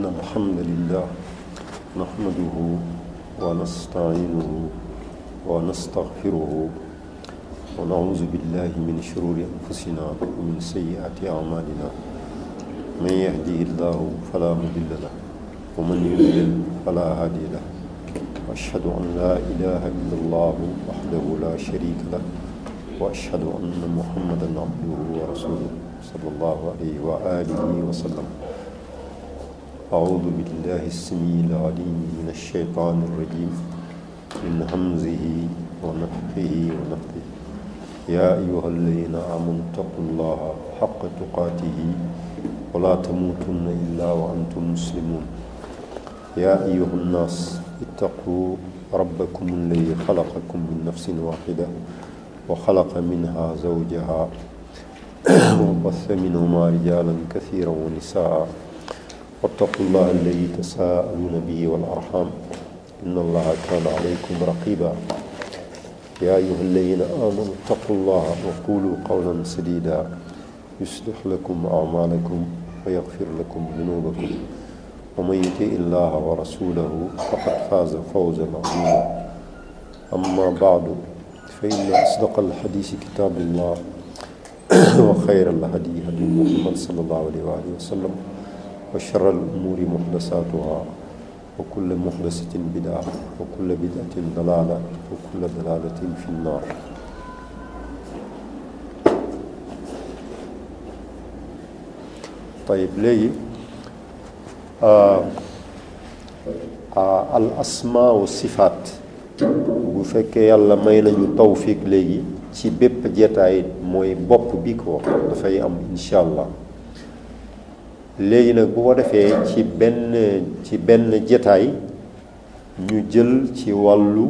الحمد لله نحمده ونستعينه ونستغفره ونعوذ بالله من شرور أنفسنا ومن سيئات أعمالنا من يهده الله فلا مضل له ومن يضلل فلا هادي له وأشهد أن لا إله إلا الله وحده لا شريك له وأشهد أن محمدا عبده ورسوله صلى الله عليه وآله وسلم. أعوذ بالله السميع العليم من الشيطان الرجيم من همزه ونفخه ونفثه. يا أيها الذين آمنوا اتقوا الله حق تقاته ولا تموتن إلا وأنتم مسلمون. يا أيها الناس اتقوا ربكم الذي خلقكم من نفس واحدة وخلق منها زوجها وبث منهما رجالا كثيرا ونساء واتقوا الله الذي تساءلون به والأرحام إن الله كان عليكم رقيبا. يا أيها الذين آمنوا اتقوا الله وقولوا قولا سديدا يصلح لكم أعمالكم ويغفر لكم ذنوبكم ومن يطع الله ورسوله فقد فاز فوزا عظيما. أما بعد فإن أصدق الحديث كتاب الله وخير الهدي هدي محمد صلى الله عليه وآله وسلم وشر الأمور محدثاتها وكل محدثة بدعة وكل بدعة ضلالة وكل ضلالة في النار. طيب léegi al asmaa wa sifaat bu fekkee yàlla may nañu tawfiq léegi ci bépp jetaay mooy bopp bi ko dafay am insha allah. léegi nag bu ko defee ci benn jetaay ñu jël ci wàllu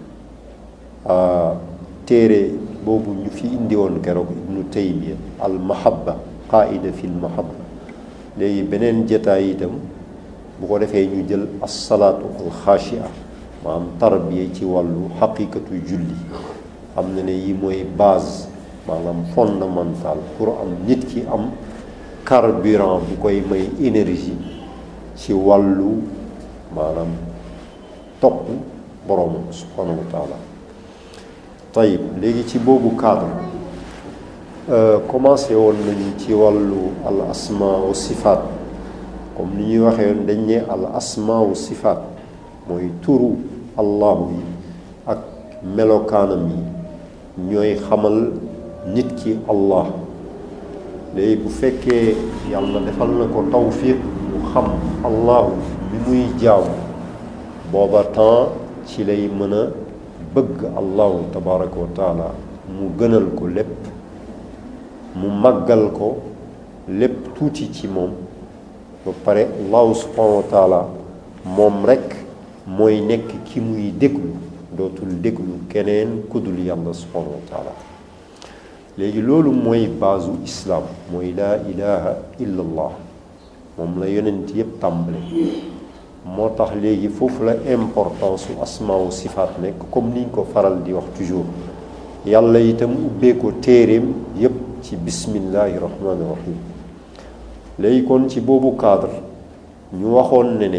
téere boobu ñu fi indi woon keroog ibnu taymiya al mahabba qaida fi l mahabba. léegi beneen jetaay itam bu ko defee ñu jël as-salaatu al-xaashia maanaam tarbiya ci wàllu xaqiqatu julli. xam na ne yi mooy base maanaam fondamental pour am nit ki am carburant bu koy may énergie ci wàllu maanaam topp boroomam subhanahu wa taala. tayib léegi ci boobu cadre commencé woon nañu ci wàllu al asma wa sifaat. comme ni ñuy waxee woon dañ ne al asma wa sifaat mooy turu allahu yi ak melokaanam yi ñooy xamal nit ki allah. léegi bu fekkee yàlla defal na ko tawfiq mu xam allahu mi muy jaaw booba temps ci lay mën a bëgg allahu tabaraka wa taala mu gënal ko lépp, mu màggal ko lépp tuuti ci moom. ba pare allahu subhanahu wa taala moom rekk mooy nekk ki muy déglu, dootul déglu keneen kudul yàlla subhanahu wa taala. léegi loolu mooy baasu islaam, mooy laa ilaha illa allah. moom la yonent yépp tàmbale. moo tax léegi foofu la importance su asmaa wa sifaat nekk, comme niñ ko faral di wax toujours. yàlla itam ubbee ko téeréem yépp ci bismillahi rahmaani rahim. léegi kon ci boobu cadre ñu waxoon ne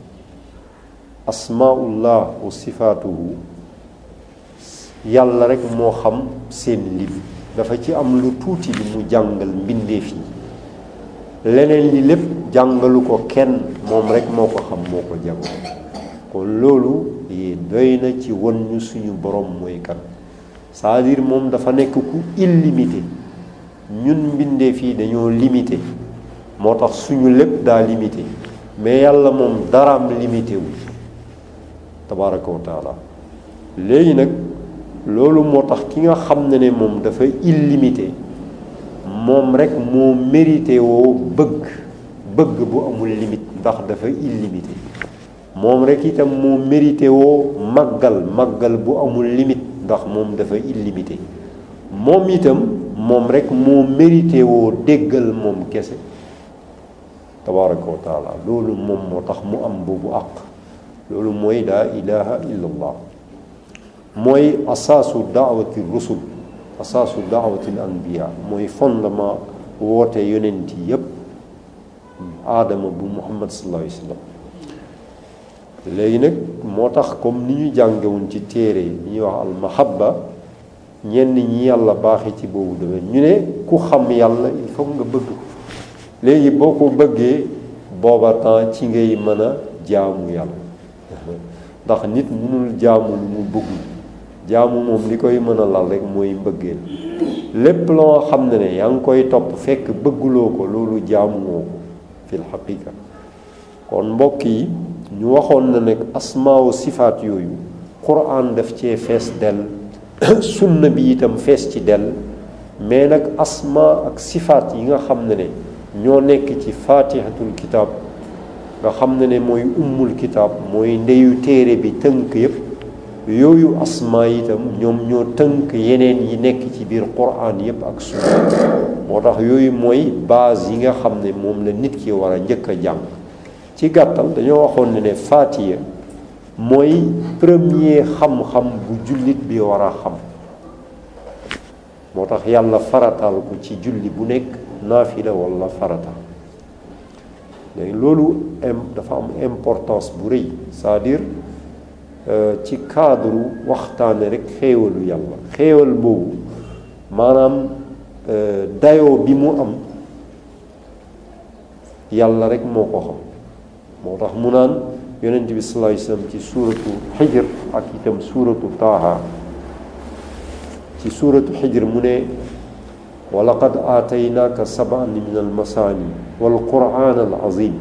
asmaullah wa sifaatuhu yàlla rekk moo xam seen lim. dafa ci am lu tuuti li mu jàngal mbindeef yi, leneen li lépp jàngalu ko kenn, moom rekk moo ko xam, moo ko jàng. kon loolu doy na ci won ñu suñu borom mooy kan. c'est-à-dire moom dafa nekk ku illimité. ñun mbindeef yi dañoo limité, moo tax suñu lépp daa limité, mais yàlla moom daraam limité wu tabaraka wa taala. léegi nag loolu moo tax ki nga xam ne moom dafa illimité, moom rekk moo mérité woo bëgg bu amul limite, ndax dafa illimité. moom rekk itam moo mérité woo màggal bu amul limite, ndax moom dafa illimité. moom itam moom rekk moo mérité woo déggal moom kese tabaraka wa taala. loolu moom moo tax mu am boobu àq. loolu mooy laa ilaha illa allah. mooy asaasu daawati rusul, asaasu daawati anbiya, mooy fondement woote yonent yépp aadama bu Muhammad sallallahu alayhi wa sallam. léegi nag moo tax comme ni ñu jàngewuñ ci téere yi ñuy wax al mahabba ñenn ñi yàlla baaxee ci boobu domaine ñu ne ku xam yàlla il faut nga bëgg ko léegi boo ko bëggee booba temps ci ngay mën a jaamu yàlla ndax nit mënul jaamu lu mu bëggul jaamu moom li koy mën a lal rek mooy mbëggeel lépp loo xam ne yaa ngi koy topp fekk bëgguloo ko loolu jaamuwoo ko fil xaqiqa. kon mbokk yi ñu waxoon na nag asmaaw sifaat yooyu quran daf cee fees dell sunna bi itam fees ci dell mais nag asma ak sifaat yi nga xam ne ñoo nekk ci fatihatul kitab nga xam ne mooy ummul kitab mooy ndeyu téere bi tënk yépp yooyu asma itam ñoom ñoo tënk yeneen yi nekk ci biir quran yépp ak sunna moo tax yooyu mooy base yi nga xam ne moom la nit ki war a njëkk a jàng. ci gàttal dañoo waxoon ne faatiya mooy premier xam-xam bu jullit bi war a xam moo tax yàlla farataal ko ci julli bu nekk naafila walla farata léegi loolu dafa am importance bu rëy c'est-à-dire ci cadre waxtaane rek xéewalu yàlla xéewal boobu maanaam dayoo bi mu am yàlla rek moo ko xam moo tax mu naan yonent bi sallallahu alayhi wasallam ci suuratu xijr ak itam suuratu taaha ci suuratu xijr mu ne wa laqad aataynaaka sab'an min almasaani wal qur'aan al azim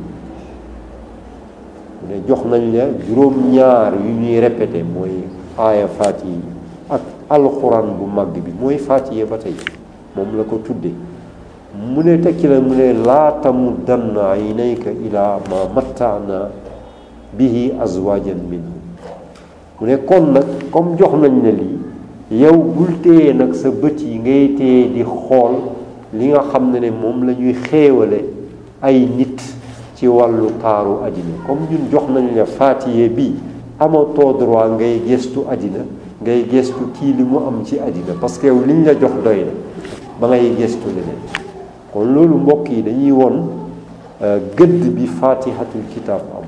mu ne jox nañ la juróom-ñaar yu ñuy répété mooy aaya faatiha yi ak alquran bu màgg bi mooy faatiha ba tey moom la ko tudde mu ne tekki la mu ne laa tamuddanna aynayka ilaa ma mattaana bihi azwajan minhum mu ne kon nag comme jox nañ ne lii yow bul téye nag sa bët yi ngay téye di xool li nga xam ne moom la ñuy xéewale ay nit ci wàllu taaru àddina comme ñun jox nañ la faatiye bi amatoo droit ngay gestu àddina ngay gestu kii li mu am ci àddina parce que yow liñ la jox doy na ba ngay gestu leneen kon loolu mbokk yi dañuy won gëdd bi faatihatul kitaab am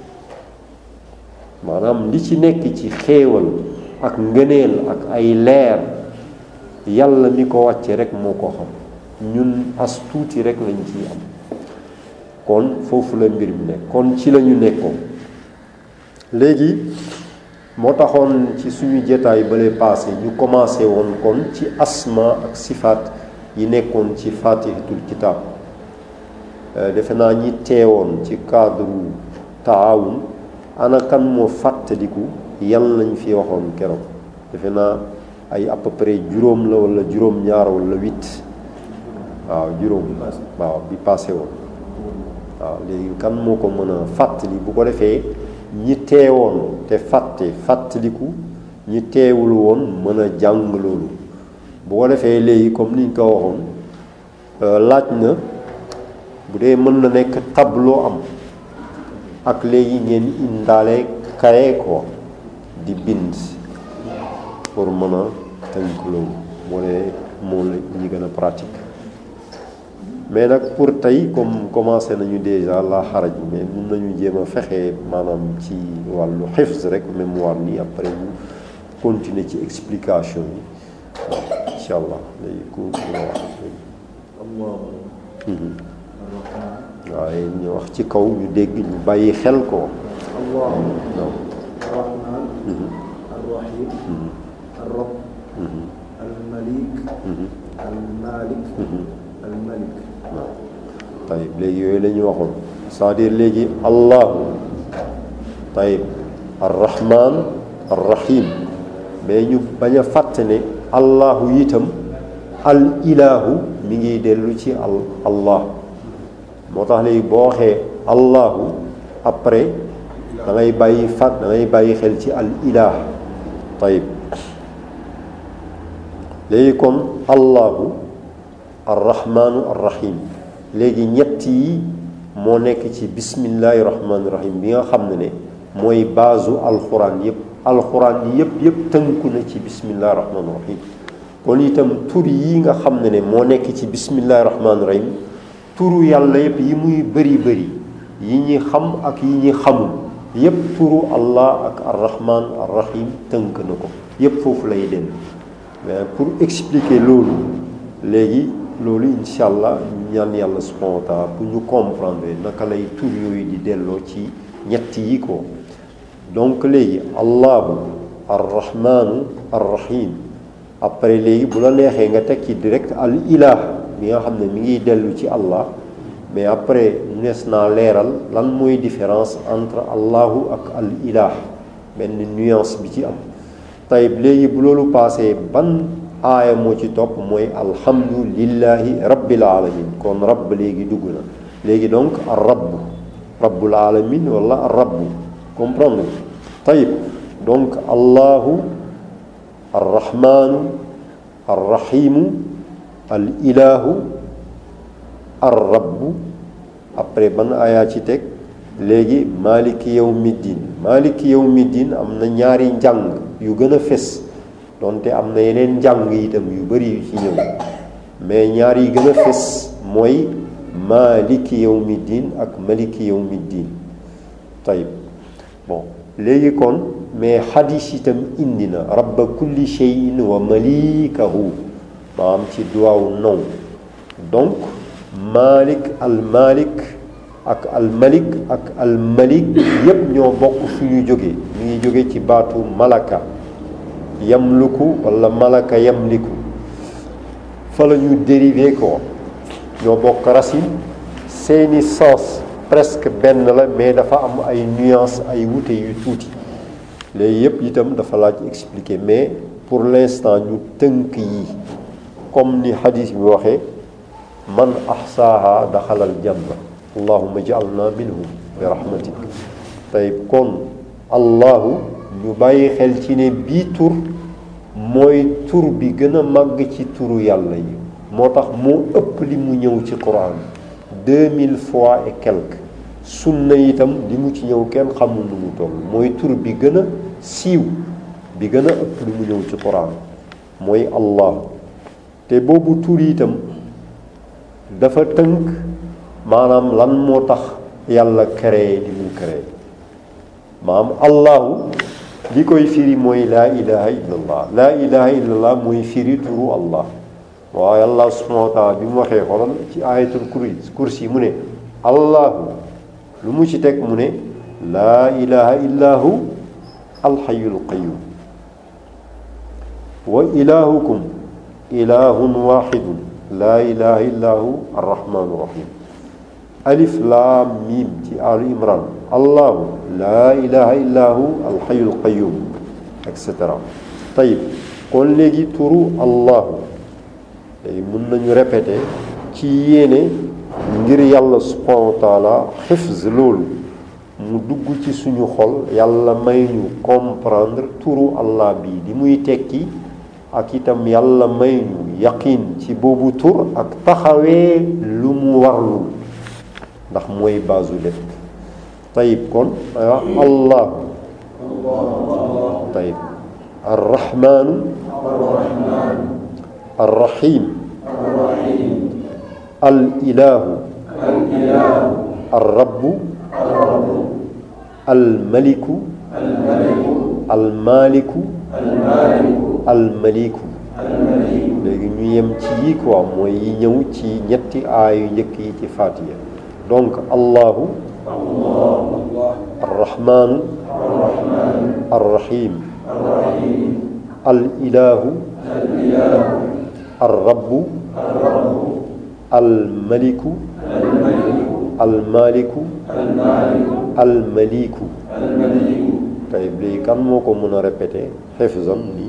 maanaam li ci nekk ci xéewal ak ngëneel ak ay leer yàlla mi ko wàcce rek moo ko xam ñun as tuuti rek lañ ciy am kon foofu la mbir mi nekk kon ci la ñu nekkoon léegi moo taxoon ci suñu jotaay bale passé ñu commencé woon kon ci asma ak sifaat yi nekkoon ci fatihatul kitab defe naa ñi teewoon ci cadre taawun ana kan moo fàttaliku yan lañ fi waxoon keroog defe naa ay à peu près juróom la wala juróom-ñaar wala 8 waaw juróom waaw bi passé woon waaw léegi kan moo ko mën a fàttali bu ko defee ñi teewoon te fàttaliku ñi teewul woon mën a jàng loolu bu ko defee léegi comme niñ ko waxoon laaj na bu dee mën na nekk tableau am ak léegi ngeen indaale kaye ko di bind pour mën a tënk loolu moo ne moom la ñu gën a pratique mais nag pour tey comme commencé nañu déjà la xaraj mais mun nañu jéem a fexe maanaam ci wàllu xifz rek mémoire nii après ñu continuer ci explication yi incha allah léegi ku nga wax waaye ñu wax ci kaw ñu dégg ñu bàyyi xel ko tayib léegi yooyu la ñu waxoon c'est-à-dire léegi allahu tayib arrahman arrahim mais ñu bañ a fàtte ne allahu itam al ilahu mi ngi dellu ci allah moo tax léegi boo waxee allahu après da ngay bàyyi xel ci al ilah tayib léegi kon allahu arrahmanu arrahim léegi ñett yi moo nekk ci bismillahi rahmaani rahim bi nga xam ne mooy baasu alxuraan yëpp tënku na ci bismillahi rahmaani rahim kon itam tur yi nga xam ne moo nekk ci bismillahi rahmaani rahim turu yàlla yëpp yi muy bëri yi ñi xam ak yi ñi xamul yëpp turu Allah ak ar-Rahman ar-Rahim tënk na ko yëpp foofu lay dellu mais pour expliquer loolu léegi loolu incha allah ñaan yàlla subhanahu wa taala pour ñu comprendre naka lay tur yooyu di delloo ci ñett yi ko donc léegi allahu ar-rahmanu ar-rahim après léegi bu la neexee nga teg ci direct al ilah bi nga xam ne mi ngi dellu ci allah mais après nees naa leeral lan mooy différence entre allahu ak al ilah benn nuance bi ci am tayib léegi bu loolu passé ban aaya moo ci topp mooy alhamdulillahi rabbil alamin kon rabb léegi dugg na léegi donc ar rabb rabbul alamin wala ar rabb comprendre tayib donc allahu arrahmanu arrahimu al ilahu ar rabb après ban aaya ci teg léegi maliki yawmiddin maliki yawmiddin am na ñaari njàng yu gën a fes donte am na yeneen njàng itam yu bari yu ci ñëw mais ñaar yi gën a fes mooy maliki yawmiddin ak maliki yawmiddin tayib bon léegi kon mais xadis itam indi na rabba kulli shay'in wa malikahu maanaam ci duwaaw non donc malik al malik ak al malik ak al malik yépp ñoo bokk fu ñu jóge ñu ngi jóge ci baatu malaka yamluku wala malaka yamliku fa la ñu dérivé ko ñoo bokk racine seeni sens presque benn la mais dafa am ay nuances ay wute yu tuuti léegi yépp itam dafa laaj expliquer mais pour l'instant ñu tënk yi comme ni hadith bi waxee man ahsaaha daxalal janna allahumma ja'alna minhum bi rahmatik tey kon allahu ñu bàyyi xel ci ne bii tur mooy tur bi gën a màgg ci turu yàlla yi moo tax moo ëpp li mu ñëw ci Quran 2000 fois et quelques sunna itam li mu ci ñëw kenn xamul nu mu toll mooy tur bi gën a siiw bi gën a ëpp li mu ñëw ci Quran mooy allah te boobu tur itam dafa tënk maanaam lan moo tax yàlla créé li mu créé maanaam allahu li koy firi mooy laa ilaha illallah laa ilaha illallah mooy firi turu allah waaye allah subhanahu wa taala bi mu waxee xoolal ci ayatul kursi mu ne allahu lu mu ci teg mu ne laa ilaha illahu alxayul qayum wa ilahukum ilahun waxidun laa ilaha illahu arrahmanu rahim alif laam miim ci al imran allahu laa ilaha illahu alxayul qayum et cetera tayib kon léegi turu allahu léegi mën nañu répéter ci yéene ngir yàlla subhanahu wa taala xifz loolu mu dugg ci suñu xol yàlla may ñu comprendre turu allah bi di muy tekki ak itam yàlla may ñu yaqin ci boobu tur ak taxawee lu mu warlul ndax mooy baasu lépp tayib kon allahu tayib arrahmanu arrahim al ilahu arrabbu al maliku al maliku al maliku léegi ñu yem ci yi quoi mooy yi ñëw ci ñetti aayu njëkk yi ci Fatiha donc allahu arrahmanu arrahim al ilahu arrabbu al maliku al maliku al maliku tey léegi kan moo ko mën a répéter xefzan nii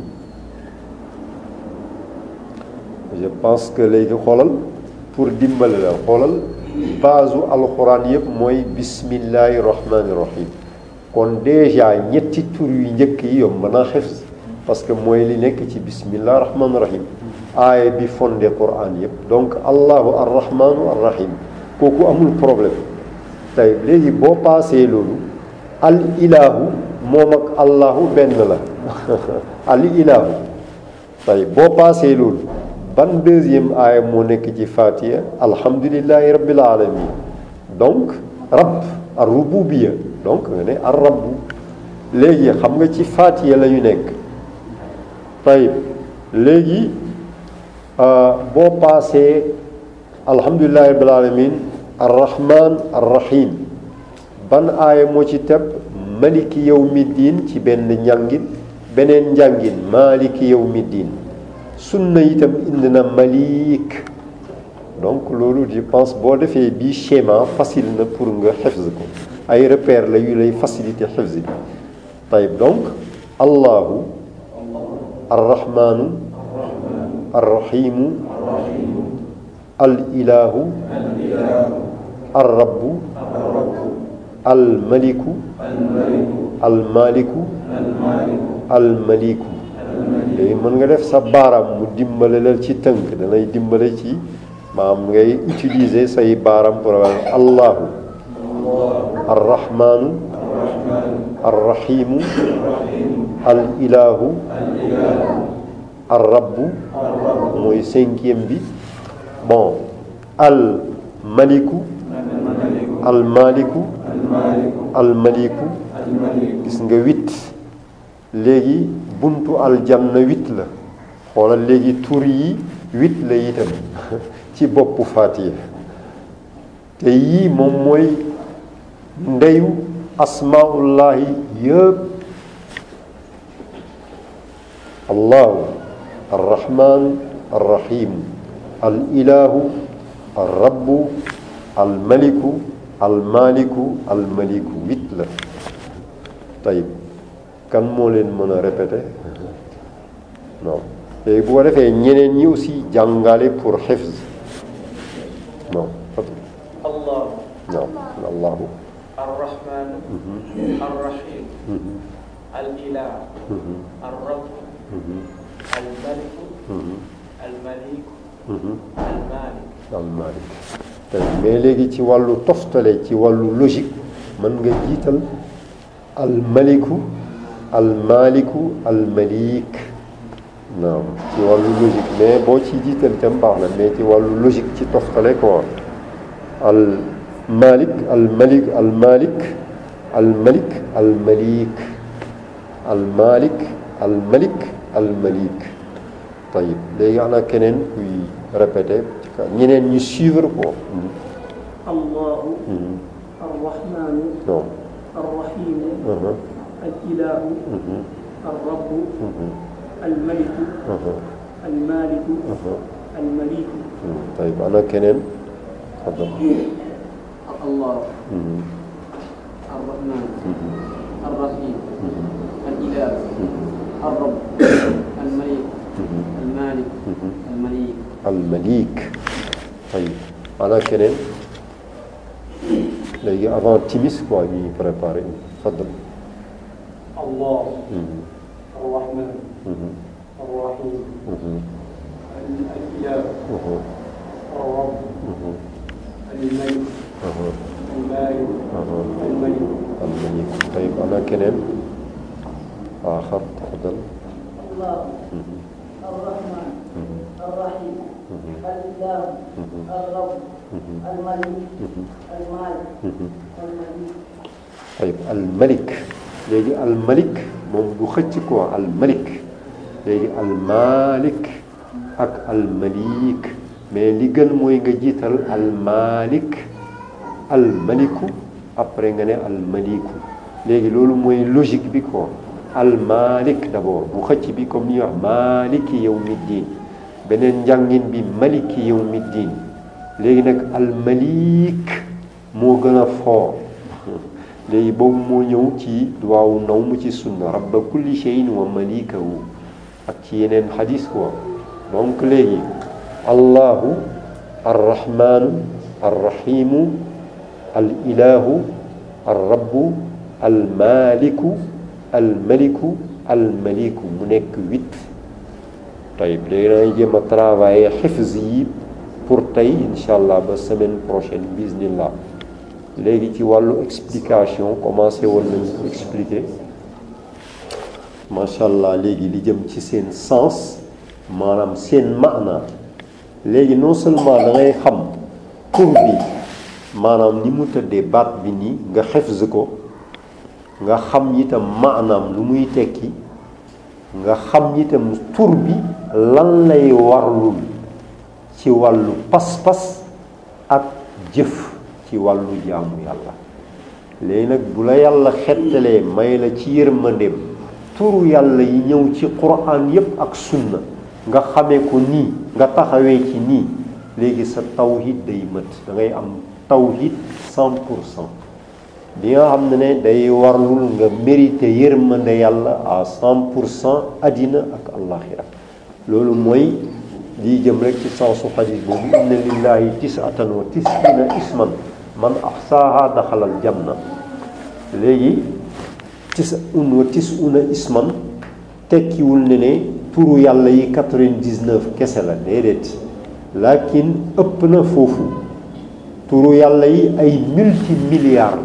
je pense que léegi xoolal pour dimbali la xoolal baasu alxuraan yëpp mooy bismillahi rahmani rahim kon déjà ñetti tur yu njëkk yi yomb naa xefz parce que mooy li nekk ci bismillahi rahmani rahim aaya bi fondé Quran yëpp donc allahu arrahmanu arrahim kooku amul problème tey léegi boo paasee loolu al ilahu moom ak allahu benn la al ilahu tey boo paasee loolu ban deuxième aaya moo nekk ci Fatiha alhamdulillahi rabbil alamin donc rabb ar rububiyya donc nga ne ar rabbu léegi xam nga ci Fatiha la ñu nekk tayib léegi boo paasee alhamdulillahi rabbil alamin ar rahman ar rahim ban aaya moo ci teb maliki yawmi diin ci benn njàngin beneen njàngin maliki yawmi diin sunna itam indi na malik donc loolu je pense boo defee bii schéma facile na pour nga xifz ko ay repère la yu lay facilité xifz bi tayib donc allahu arrahmanu arrahimu al ilahu arrabbu al maliku al maliku al maliku léegi mën nga def sa baaraam mu dimbale la ci tënk danay dimbale ci maam ngay utiliser say baaraam pour allahu arrahmanu arrahimu al ilahu arrabbu mooy cinquième bi bon al maliku al maliku al maliku gis nga 8 léegi buntu aljanna 8 la xoolal léegi tur yi 8 la itam ci boppu Fatiha te yii moom mooy ndeyu asmaullahi yëpp allahu arrahman arrahim al ilahu arrabbu al maliku al maliku al maliku 8 la tayib kan moo leen mën a répéter non léegi bu ko defee ñeneen ñi aussi jàngale pour xifz non allah non allahu arrahman arrahim al ilah arrab al malik al malik al malik al malik tey mais léegi ci wàllu toftale ci wàllu logique mën nga jiital al maliku al maliku al malik naam ci wàllu logique mais boo ci jiital itam baax na mais ci wàllu logique ci toftale quoi al malik al malik al malik al malik al malik al malik al malik al malik tayib léegi ana keneen kuy répété ñeneen ñu suivre ko allahu arrahmanu non arrahimu al ilahu arrabbu al maliku al maliku al maliku tayib ana keneen الله الرحمن الرحيم الإله الرب الملك المالك المليك المليك طيب أنا كنين léegi avant timis quoi ñuy préparé faddal الله الرحمن الرحيم الإله الرب الملك المالك الملك الملك طيب أنا كنين آخر تفضل الله الرحمن الرحيم الإله الرب الملك المالك الملك طيب الملك léegi الملك moom du xëcc quoi الملك léegi المالك ak المليك mais li gën mooy nga jiital almalik almaliku après nga ne almaliku léegi loolu mooy logique bi quoi almalik d'abord bu xëcc bi comme ni ñuy wax maliki yawmiddin beneen njàngin bi maliki yawmiddin léegi nag almalik moo gën a fort léegi boobu moo ñëw ci waaw naw mu ci sunna rabba kulli shay'in wa malikahu ak ci yeneen xadis quoi donc léegi allahu arrahmanu arrahimu al ilahu arrabbu almaliku almaliku almaliku mu nekk 8 tayib léegi dangay jéem a travailler xifz yi pour tey incha allah ba semaine prochaine bismillah léegi ci wàllu explication commencé woon nañu expliquer macha allah léegi li jëm ci seen sens maanaam seen maana léegi non seulement da ngay xam tur bi maanaam ni mu tëddee baat bi nii nga xefz ko nga xam itam maanaam lu muy tekki nga xam itam tur bi lan lay warlul ci wàllu pas-pas ak jëf ci wàllu jaamu yàlla. léegi nag bu la yàlla xettalee may la ci yërmandeem turu yàlla yi ñëw ci Qur'an yépp ak sunna nga xamee ko nii nga taxawee ci nii léegi sa tawhid day mët da ngay am tawhid 100% bi nga xam ne day warlul nga mérité yërmande yàlla à 100% àddina ak àllaxira. loolu mooy lii jëm rek ci sensu xadiis boobu inna lillahi 99 isman man ahsaaha daxalal janna. léegi 99 isman tekkiwul ne turu yàlla yi 99 kese la déedéet, lakin ëpp na foofu. turu yàlla yi ay multimilliards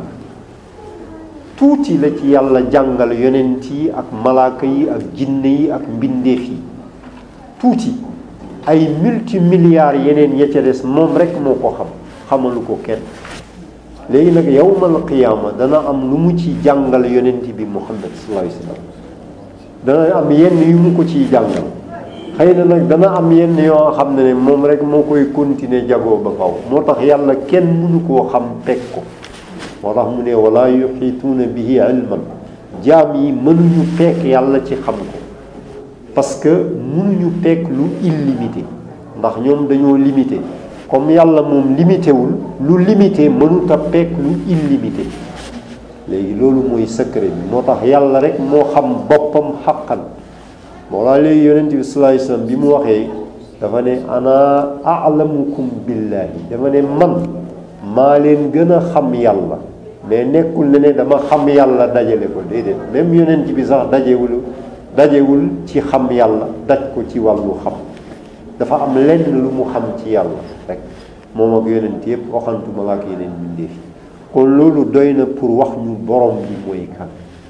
tuuti la ci yàlla jàngal yonent yi ak malaaka yi ak jinne yi ak mbindeef yi tuuti. ay multimilliards yeneen ya ca des moom rek moo ko xam, xamalu ko kenn. léegi nag yawmal qiyaama dana am lu mu ci jàngal yonent bi Muhammad sallallahu alayhi wa sallam, dana am yenn yu mu ko ciy jàngal. xëy na nag dana am yenn yoo xam ne moom rek moo koy continuer jagoo ba faw. moo tax yàlla kenn mënu koo xam teg ko. moo tax mu ne wala yuxiituuna bihi ilman, jaam yi mënuñu fekk yàlla ci xam ko, parce que mënuñu fekk lu illimité, ndax ñoom dañoo limité. comme yàlla moom limité wul, lu limité mënut a fekk lu illimité. léegi loolu mooy secret bi. moo tax yàlla rek moo xam boppam xaqan. moo laa léegi yonent bi sallallahu alayhi wasallam bi mu waxee dafa ne ana a'lamukum billahi, dafa ne man maa leen gën a xam yàlla. mais nekkul ne dama xam yàlla dajale ko, déedéet. même yonent bi sax dajewul ci xam yàlla daj ko ci wàllu xam. dafa am lenn lu mu xam ci yàlla rek, moom ak yonent yëpp waxantuma la ak yeneen mbindeef. kon loolu doy na pour wax ñu borom bi mooy kan.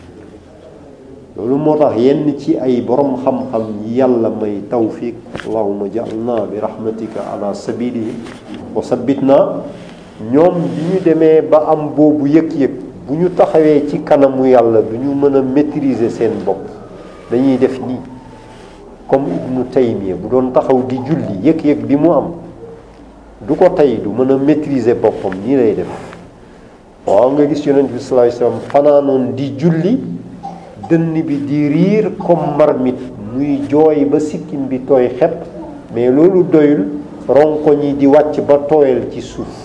loolu moo tax yenn ci ay borom xam-xam yi yàlla may tawfiq, allahumma ja'alna bi rahmatika ala sabilihi wa sabbitna, ñoom bi ñu demee ba am boobu yëg-yëg, bu ñu taxawee ci kanamu yàlla du ñu mën a maîtriser seen bopp, dañuy def nii. comme Ibnu Taymiya bu doon taxaw di julli, yëg-yëg bi mu am du ko tey, du mën a maîtriser boppam, nii lay def. waaw nga gis yonent bi sallallahu alayhi wasallam fanaanoon di julli, dënn bi di riir comme marmite, muy jooy ba sikkim bi tooy xepp, mais loolu doyul, ronkoñ yi di wàcc ba tooyal ci suuf.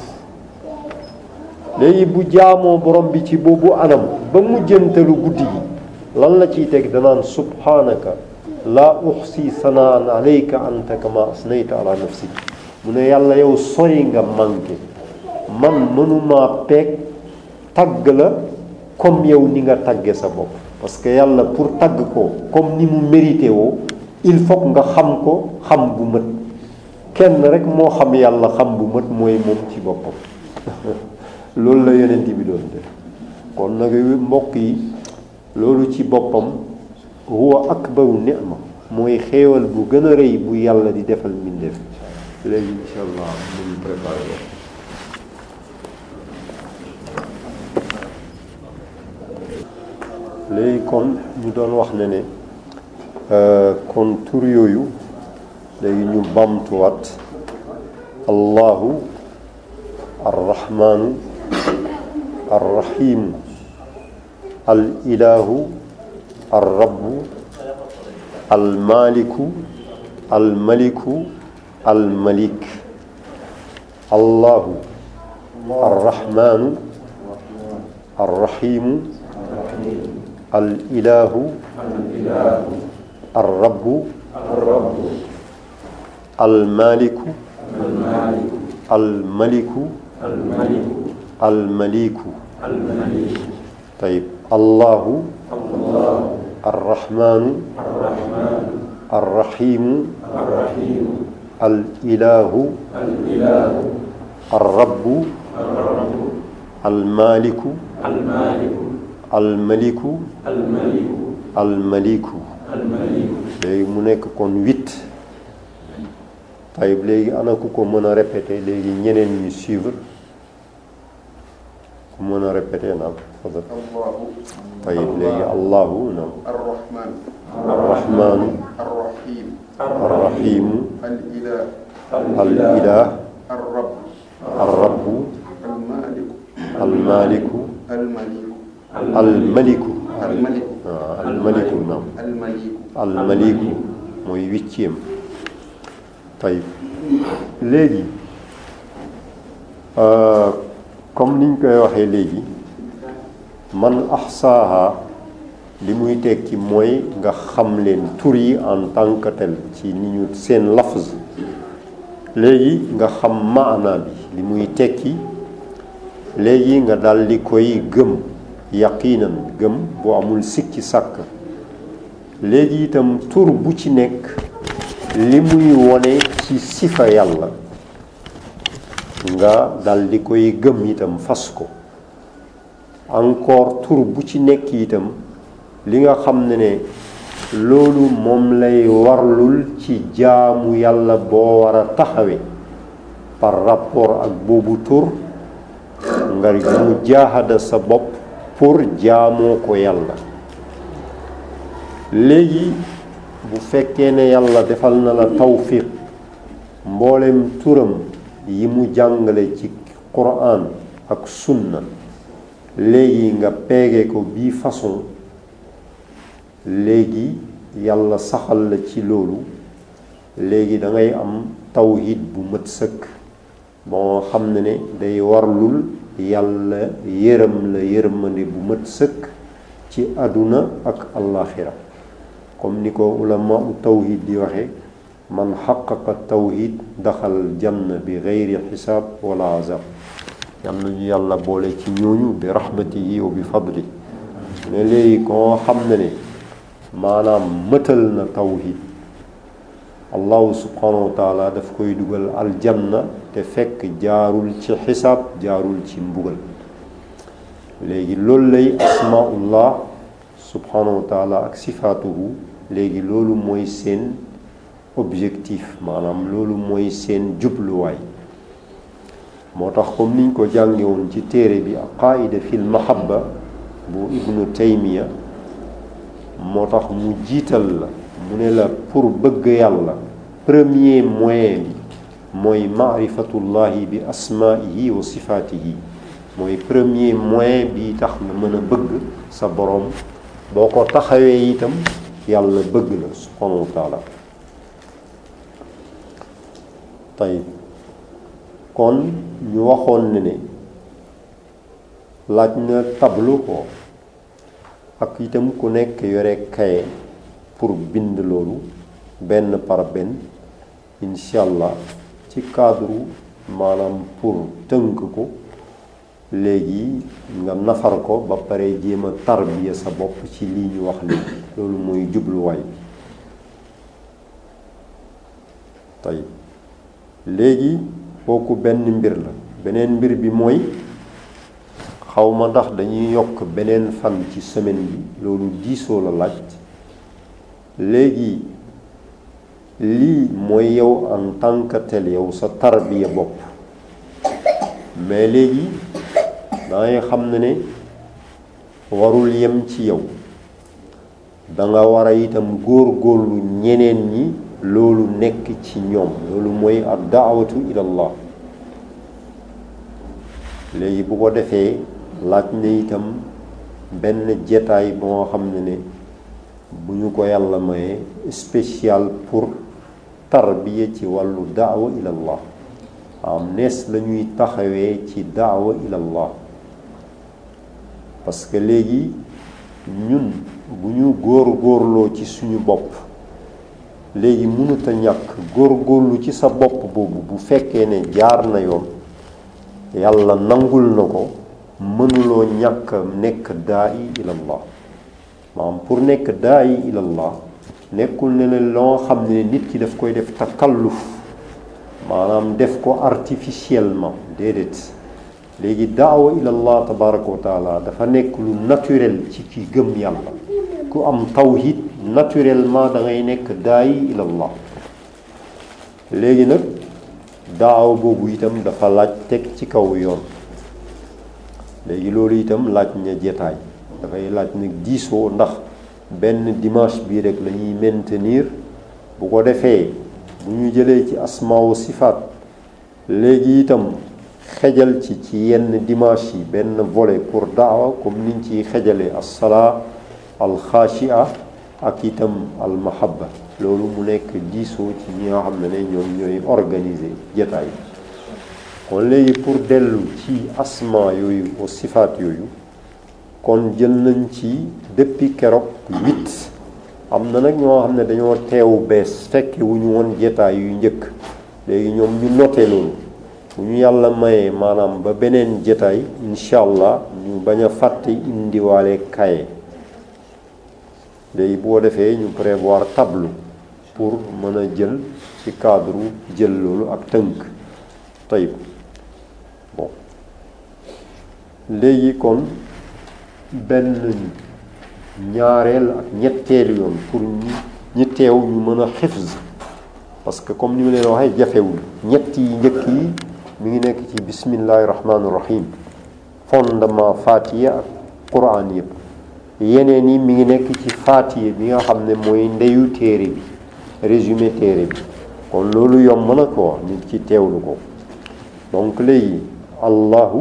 léegi bu jaamoo borom bi ci boobu anam ba mujjantalu guddi gi lan la ciy teg? danaan subhanaka laa uxsi sanaan alayka anta kama asnayta ala nafsi. mu ne yàlla yow sori nga manqué, man mënuma peeg tagg la comme yow ni nga tagge sa bopp. parce que yàlla pour tagg ko comme ni mu mérité woo, il faut nga xam ko xam bu mët. kenn rek moo xam yàlla xam bu mët, mooy moom ci boppam. loolu la yonent bi doon def. kon nag mbokk yi, loolu ci boppam huwa akbaru ni'ma, mooy xéewal bu gën a rëy bu yàlla di defal mbindeef. léegi insha allah mu ngi préparé léegi kon ñu doon wax ne kon tur yooyu léegi ñu bamtuwaat: allahu arrahmanu arrahimu al ilahu arrabu almaliku almaliku almalik. allahu arrahmanu arrahimu al ilahu arrabu almaliku almaliku almaliku. طيب الله الرحمن الرحيم الإله الرب المالك الملك الملك. léegi mu nekk kon 8. tayib léegi ana ku ko mën a répéter léegi ñeneen ñi suivre ku mën a répéter naam fadal allahu tayib léegi allahu naam arrahman arrahmaanu arrahim arrahimu alilah al ilah arrab arrabu almaliku almaliku almaliku almaliku almaliku almaliku naam almaliku almaliku mooy huitième tayib léegi comme niñ koy waxee léegi man ahsaaha li muy tekki mooy nga xam leen tur yi en tant que tel ci ni ñu seen lafz léegi nga xam maana bi li muy tekki léegi nga daldi koy gëm yaqiinan gëm bu amul sikki sàkk léegi itam tur bu ci nekk li muy wone ci sifa yàlla nga daldi koy gëm itam fas ko encore tur bu ci nekk itam li nga xam ne loolu moom lay warlul ci jaamu yàlla boo war a taxawe par rapport ak boobu tur nga mu jaahada sa bopp pour jaamoo ko yàlla léegi bu fekkee ne yàlla defal na la tawfiq mboolem turam yi mu jàngale ci Qur'an ak sunna léegi nga peege ko bii façon léegi yàlla saxal la ci loolu léegi da ngay am tawhid bu mat sëkk boo xam ne day warlul yàlla yërëm la yërmande bu mat sëkk ci àdduna ak allaaxira comme ni ko ulama tawhid di waxe man xaqaqa tawhid daxal janna bi geyri xisaab wala azab yal nañu yàlla boole ci ñooñu bi rahmatihi wa bi fadli ne léegi koo xam ne maanaam mëtal na tawhid allahu subhanahu wa taala daf koy dugal aljanna te fekk jaarul ci xisaab jaarul ci mbugal léegi loolu lay asmaullah subhanahu wa taala ak sifaatuhu léegi loolu mooy seen objectif maanaam loolu mooy seen jubluwaay moo tax comme niñ ko jànge woon ci téere bi qaida fil mahabba bu ibnu taymiya moo tax mu jiital la mu ne la pour bëgg yàlla premier moyen bi mooy maarifatullahi bi asmaihi wa sifaatihi mooy premier moyen bi tax nga mën a bëgg sa boroom boo ko taxawee itam yàlla bëgg la subhanahu wa taala tey kon ñu waxoon ne laaj na tableau ko ak itam ku nekk yore kaye pour bind loolu benn par benn incha allah ci cadre maanaam pour tënk ko léegi nga nafar ko ba pare jéem a tarbiya sa bopp ci lii ñu wax léegi loolu mooy jubluwaay bi tey léegi kooku benn mbir la beneen mbir bi mooy xawma ndax dañuy yokk beneen fan ci semaine bi loolu diisoo la laaj léegi lii mooy yow en tant que tel yow sa tarbiya bopp mais léegi dangay xam ne warul yem ci yow danga war a itam góor-góorlu ñeneen ñi loolu nekk ci ñoom loolu mooy ad daawatu ilallah léegi bu ko defee laaj na itam benn jetaay boo xam ne bu ñu ko yàlla maye spécial pour tarbiya ci wàllu daawa ilallah am nees lañuy taxawee ci daawa ilallah parce que léegi ñun bu ñu góor-góorloo ci suñu bopp léegi mënut a ñàkk góor-góorlu ci sa bopp boobu bu fekkee ne jaar na yoon yàlla nangul na ko mënuloo ñàkk nekk daa'i ilallah maanaam pour nekk daa'i ilallah nekkul ne la loo xam ne nit ki daf koy def takalluf maanaam def ko artificiellement déedéet léegi daawa ilallah tabaraka wa taala dafa nekk lu naturel ci ki gëm yàlla ku am tawhid naturellement da ngay nekk daa'i ilallah léegi nag daawa boobu itam dafa laaj teg ci kaw yoon. léegi loolu itam laaj na jetaay, dafay laaj nag diisoo, ndax benn dimanche bii rek la ñuy maintenir. bu ko defee bu ñu jëlee ci asmaawu sifaat léegi itam xejal ci yenn dimanche yi benn volet pour daawa, comme niñ ciy xejalee as-salaa al-xaashia ak itam al-mahabba. loolu mu nekk diisoo ci ñi nga xam ne ñoom ñooy organiser jetaay. kon léegi pour dellu ci asma yooyu au sifaat yooyu, kon jël nañ ci depuis keroog 8. am na nag ñoo xam ne dañoo teewu bees fekke wu ñu woon jetaay yu njëkk, léegi ñoom ñu noté loolu. bu ñu yàlla mayee maanaam ba beneen jetaay incha allah ñu bañ a fàtte indiwaale kaye. léegi boo defee ñu prévoir tableau pour mën a jël ci cadre jël loolu ak tënk tayib. bon léegi kon benn ñaareel ak ñetteelu yoon pour ñi teew ñu mën a xifz, parce que comme ni ma leen waxee jafewul. ñett yi njëkk yi mi ngi nekk ci bismillahi rahmaani rahim, fondement Fatiha ak Quran yëpp. yeneen yi mi ngi nekk ci Fatiha bi nga xam ne mooy ndeyu téere bi, résumé téere bi. kon loolu yomb na ko nit ci teewlu ko. donc léegi allahu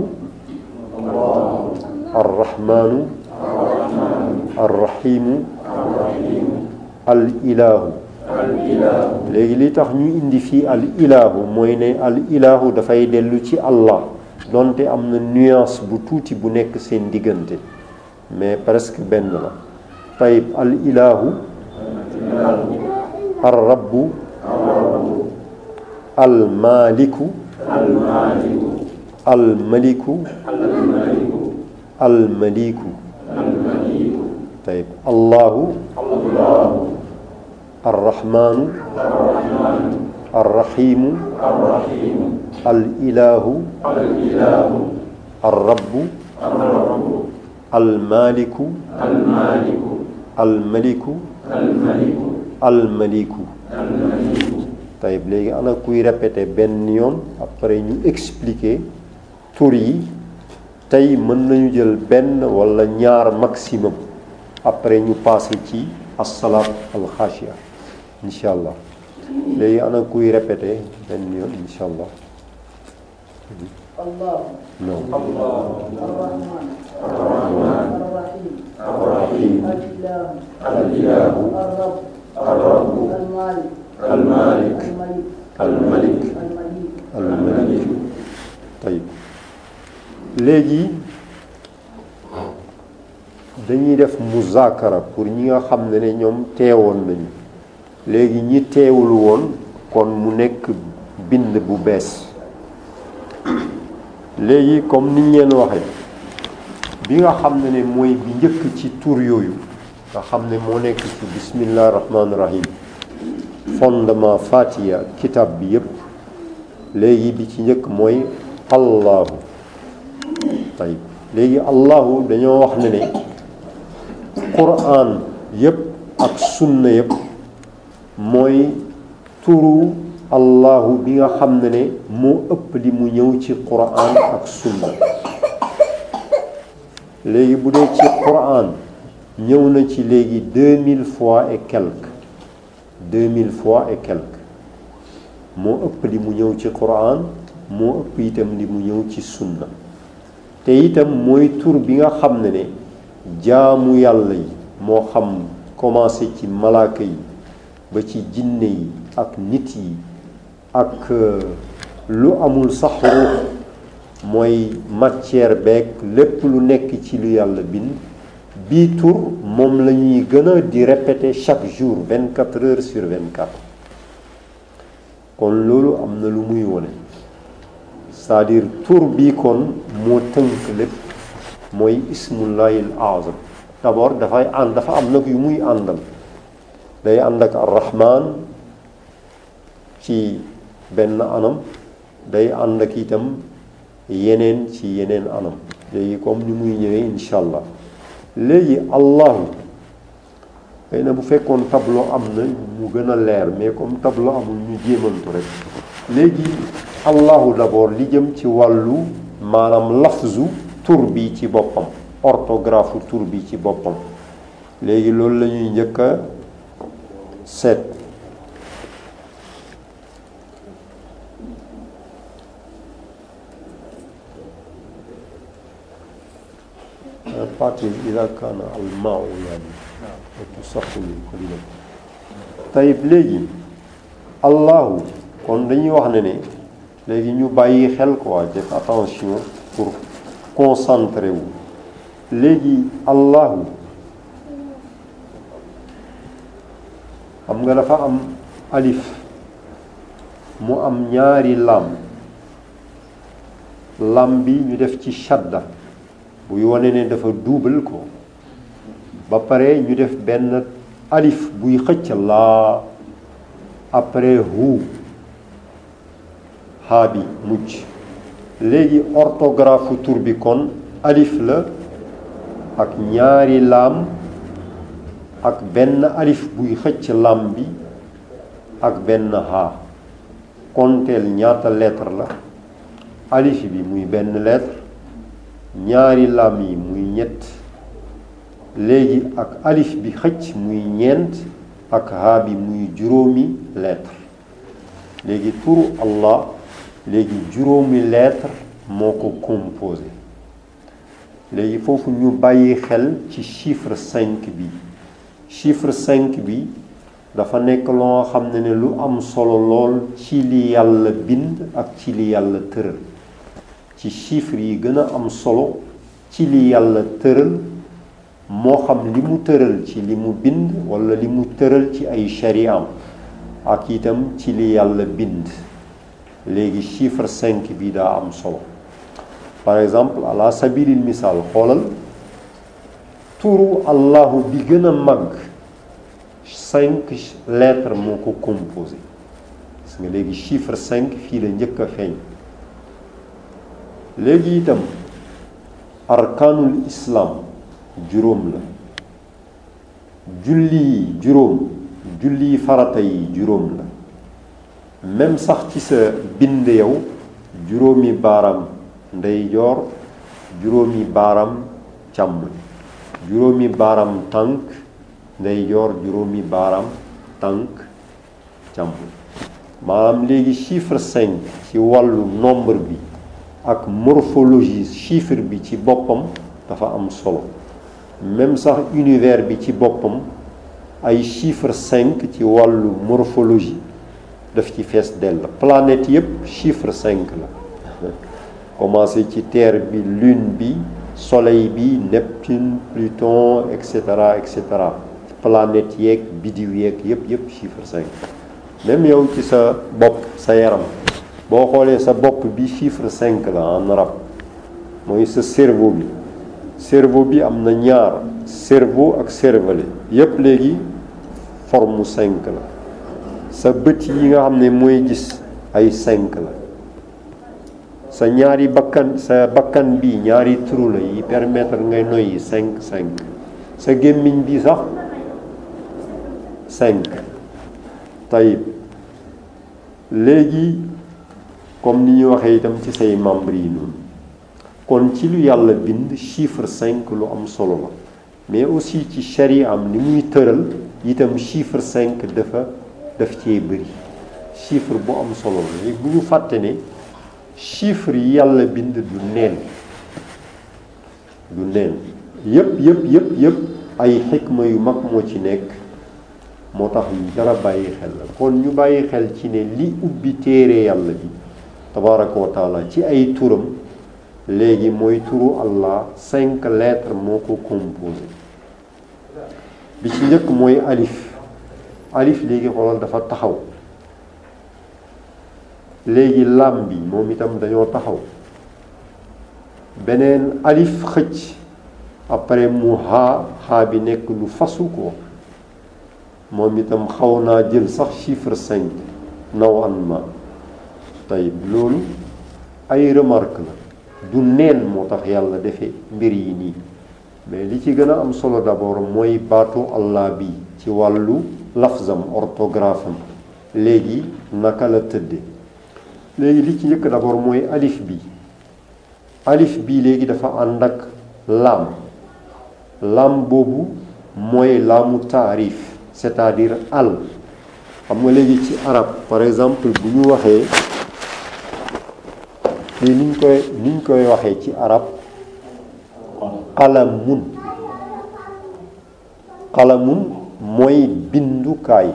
arrahmanu arrahimu al ilahu. léegi li tax ñu indi fii al ilahu mooy ne al ilahu dafay dellu ci allah, donte am na nuance bu tuuti bu nekk seen diggante, mais presque benn la. tayib al ilahu ar rabbu al maliku al maliku al maliku. tayib allahu arrahmanu arrahimu al ilahu ar rabbu al maliku al maliku al maliku. tayib léegi ana kuy répéter benn yoon après ñu expliquer tur yi. tey mën nañu jël benn wala ñaar maximum, après ñu passé ci as-salaat al-xaashia incha allah. léegi ana kuy répéter benn yoon incha allah. الله non الرحمن الرحيم الرحيم الإله الرب المالك الملك al-malik. tayib léegi dañuy def muzaakara pour ñi nga xam ne ñoom teewoon nañu. léegi ñi teewul woon kon mu nekk bind bu bees. léegi comme niñ leen waxee, bi nga xam ne mooy bi njëkk ci tur yooyu nga xam ne moo nekk ci bismillahi rahmaani rahim, fondement Fatiha kitab bi yépp. léegi bi ci njëkk mooy allahu. tayib léegi allahu dañoo wax ne Qur'an yépp ak sunna yépp mooy turu allahu bi nga xam ne moo ëpp li mu ñëw ci Qur'an ak sunna. léegi bu dee ci Qur'an ñëw na ci léegi 2000 fois et quelques 2000 fois et quelques moo ëpp li mu ñëw ci Qur'an, moo ëpp itam li mu ñëw ci sunna. te itam mooy tur bi nga xam ne jaamu yàlla yi moo xam commencé ci malaaka yi ba ci jinne yi ak nit yi ak lu amul sax ruux, mooy matière beeg lépp lu nekk ci lu yàlla bind. bii tur moom la ñuy gën a di répéter chaque jour 24 heures sur 24. kon loolu am na lu muy wone, c'est-à-dire tur bii kon moo tënk lépp, mooy ismullahil azam. d'abord dafa am nag yu muy àndal. day ànd ak arrahman ci benn anam, day ànd ak itam yeneen ci yeneen anam. léegi comme ni muy ñëwee incha allah. léegi allahu xëy na bu fekkoon tableau am na mu gën a leer, mais comme tableau amul ñu jéemantu rek. léegi allahu d'abord li jëm ci wàllu maanaam lafzu tur bi ci boppam, orthographe tur bi ci boppam. léegi loolu la ñuy njëkk a seet. partie ila kaana almaa yani tusaqul qalila. tayib léegi allahu kon dañuy wax ne léegi ñu bàyyi xel quoi, def attention pour concentrer wu. léegi allahu xam nga dafa am alif mu am ñaari lam bi ñu def ci shadda buy wane ne dafa double ko, ba pare ñu def benn alif buy xëcc laa, après hu haa bi mujj. léegi orthographe tur bi kon alif la ak ñaari laam ak benn alif buy xëcc lam bi ak benn haa. konteel ñaata lettre la. alif bi muy benn lettre, ñaari lam yi muy ñett, léegi ak alif bi xëcc muy ñeent, ak haa bi muy juróomi lettre. léegi turu Allah léegi juróomi lettre moo ko composé. léegi foofu ñu bàyyi xel ci chiffre 5 bi. chiffre 5 bi dafa nekk loo xam ne lu am solo lool ci li yàlla bind ak ci li yàlla tëral. ci chiffre yi gën a am solo ci li yàlla tëral, moo xam li mu tëral ci li mu bind wala li mu tëral ci ay shariam, ak itam ci li yàlla bind. léegi chiffre 5 bi daa am solo. par exemple ala sabilil misaal xoolal turu allahu bi gën a mag 5 lettres moo ko composé. gis nga léegi chiffre 5 fii la njëkk a feeñ. léegi itam arkaanul islam juróom la. julli yi juróom, julli farata yi juróom la. même sax ci sa bind yow juróomi baaraam ndeyjoor, juróomi baaraam càmmoñ, juróomi baaraam tànk ndeyjoor, juróomi baaraam tànk càmmoñ. maanaam léegi chiffre 5 ci wàllu nombre bi ak morphologie chiffre bi ci boppam dafa am solo. même sax univers bi ci boppam ay chiffre 5 ci wàllu morphologie daf ci fees dell. planète yépp chiffre 5 la. commencé ci terre bi, lune bi, soleil bi, Neptune, Pluton, etc. planète yeeg biddiw yeeg yépp chiffre 5. même yow ci sa bopp sa yaram boo xoolee sa bopp bi chiffre 5 la en arabe, mooy sa cerveau bi. cerveau bi am na ñaar, cerveau ak cervelet yépp léegi forme 5 la. sa bët yi nga xam ne mooy gis ay 5 la. sa ñaari bakkan, sa bakkan bi ñaari trou la yi permettre ngay noyyi 5. sa gémmiñ bi sax 5. tayib léegi comme ni ñu waxee itam ci say membres yi noonu. kon ci lu yàlla bind chiffre 5 lu am solo la, mais aussi ci charia am ni muy tëral itam chiffre 5 daf cee bëri. chiffre bu am solo la. léegi bu ñu fàtte ne chiffre yi yàlla bind du neen yépp ay xikma yu mag moo ci nekk. moo tax yu dara bàyyi xel la. kon ñu bàyyi xel ci ne li ubbi téere yàlla bi tabaraka wa taala ci ay turam léegi mooy turu Allah 5 lettres moo ko composé. bi ci njëkk mooy alif. alif léegi xoolal dafa taxaw. léegi lam bi moom itam dañoo taxaw. beneen alif xëcc, après mu haa bi nekk lu fasu ko, moom itam xaw naa jël sax chiffre 5 naw an ma. tey loolu ay remarque la, du neen moo tax yàlla defee mbir yi nii. mais li ci gën a am solo d'abord mooy baatu Allah bi ci wàllu lafzam orthographe am léegi naka la tëdde léegi li ci njëkk d'abord mooy alif bi léegi dafa ànd ak laam boobu mooy laamu taarif c'est-à-dire al xam nga léegi ci arab par exemple bu ñu waxee lii niñ koy waxee ci arab qalamun mooy bindukaay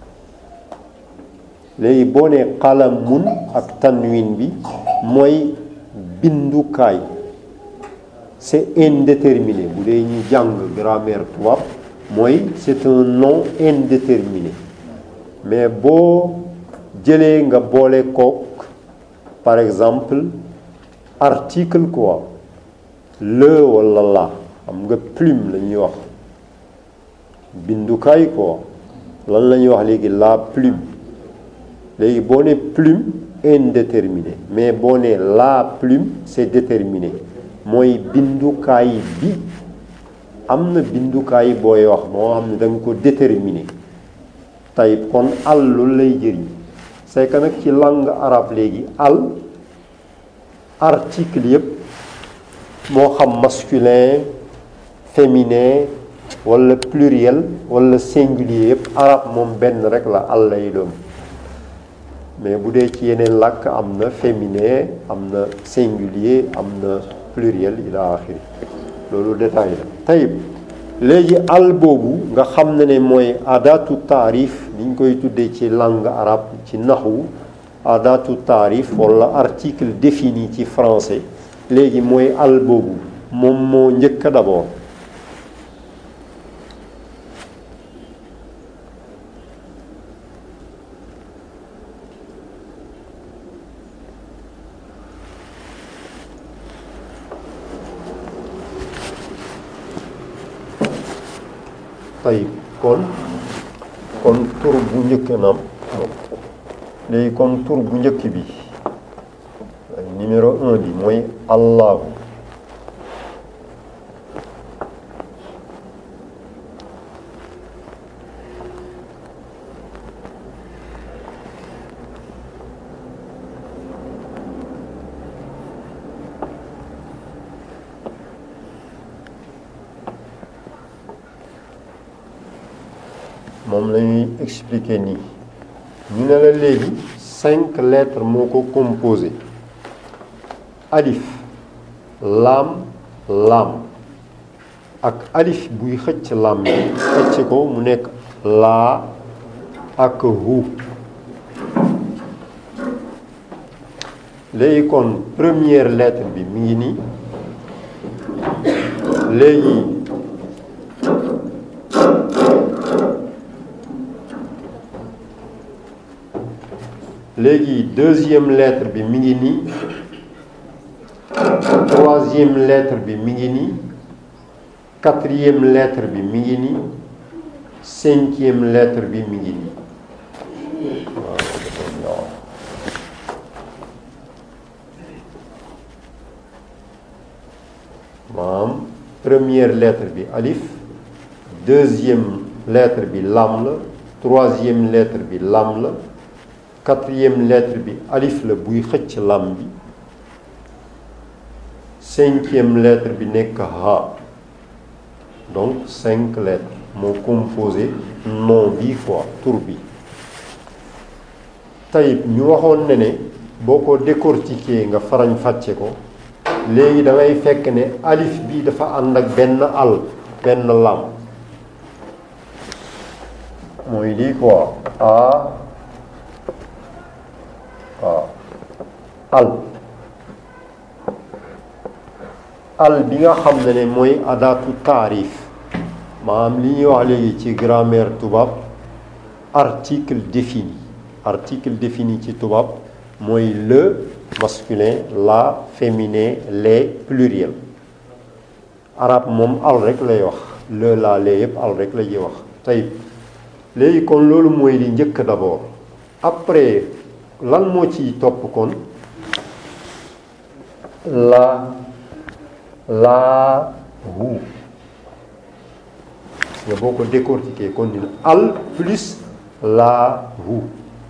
léegi boo nee qalamun ak tanwin bi mooy bindukaay c'est indéterminé bu dee ñu jàng grammaire tubaab mooy c'est un nom indéterminé mais boo jëlee nga boole kook par exemple article quoi le wala la xam nga plume la ñuy wax bindukaay quoi lan la ñuy wax léegi la plume léegi boo ne plume indéterminé mais boo ne la plume c'est déterminé mooy bindukaay bi am na bindukaay booy wax moo xam ne da nga ko déterminé tey kon al loolu lay jëriñ c'est que nag ci langue arabe léegi al article yëpp moo xam masculin féminin wala pluriel wala singulier yëpp arabe moom benn rek la al lay doon mais bu dee ci yeneen làkk am na féminin am na singulier am na pluriel ila axiri loolu détail la tayib léegi al boobu nga xam ne mooy adatu taarif ni ñu koy tuddee ci langue arabe ci naxwu adatu taarif wala article défini ci français léegi mooy al boobu moom moo njëkk d'abord tayib kon tur bu njëkk naam léegi kon tur bu njëkk bi numéro 1 bi mooy allahu moom la ñuy expliquer nii ñu ne la léegi 5 lettres moo ko composé alif laam ak alif buy xëcc laam bi xëcc ko mu nekk laa ak hu léegi kon première lettre bi mi ngi nii léegi deuxième lettre bi mi ngi nii troisième lettre bi mi ngi nii quatrième lettre bi mi ngi nii cinquième lettre bi mi ngi nii maanaam première lettre bi alif deuxième lettre bi lam la troisième lettre bi lam la quatrième lettre bi alif la buy xëcc lam bi cinquième lettre bi nekk ha donc 5 lettres moo composé nom bi quoi tur bi tayib ñu waxoon ne boo ko décortiquer nga farañ fàcce ko léegi da ngay fekk ne alif bi dafa ànd ak benn benn lam mooy lii quoi al bi nga xam ne mooy adatu taarif maanaam li ñuy wax léegi ci grammaire tubaab article défini ci tubaab mooy le masculin la féminin les pluriel arab moom al rek lay wax le la lee yëpp al rek la ñuy wax tey léegi kon loolu mooy li njëkk d'abord après lan moo ciy topp kon laa hu nga boo ko décortiquer kon dina al plus laahu.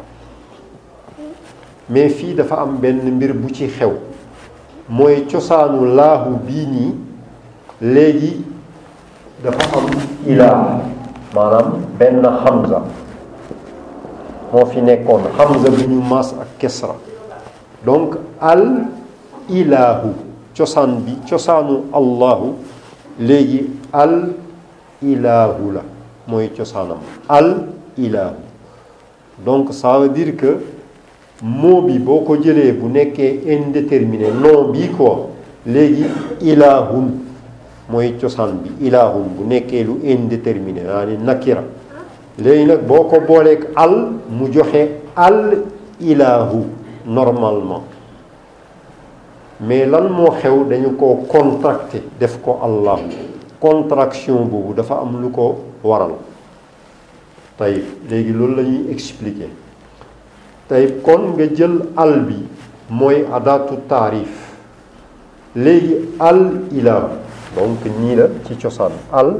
mais fii dafa am benn mbir bu ci xew mooy cosaanu laahu bii nii léegi dafa am ilaah maanaam benn hamza moo fi nekkoon hamza bu ñu maas ak kesra donc al ilaahu cosaan bi cosaanu allahu léegi al ilaahu la mooy cosaanam al ilaahu. donc ça veut dire que mot bi boo ko jëlee bu nekkee indéterminé nom bi quoi léegi ilaahun mooy cosaan bi ilaahun bu nekkee lu indéterminé naa ni nakira léegi nag boo ko booleeg al mu joxe al ilaahu normalement. mais lan moo xew dañu ko contracté def ko allahu. contraction boobu dafa am lu ko waral tey léegi loolu la ñuy expliquer tey kon nga jël al bi mooy adatu taarif léegi al ilahu donc nii la ci cosaan al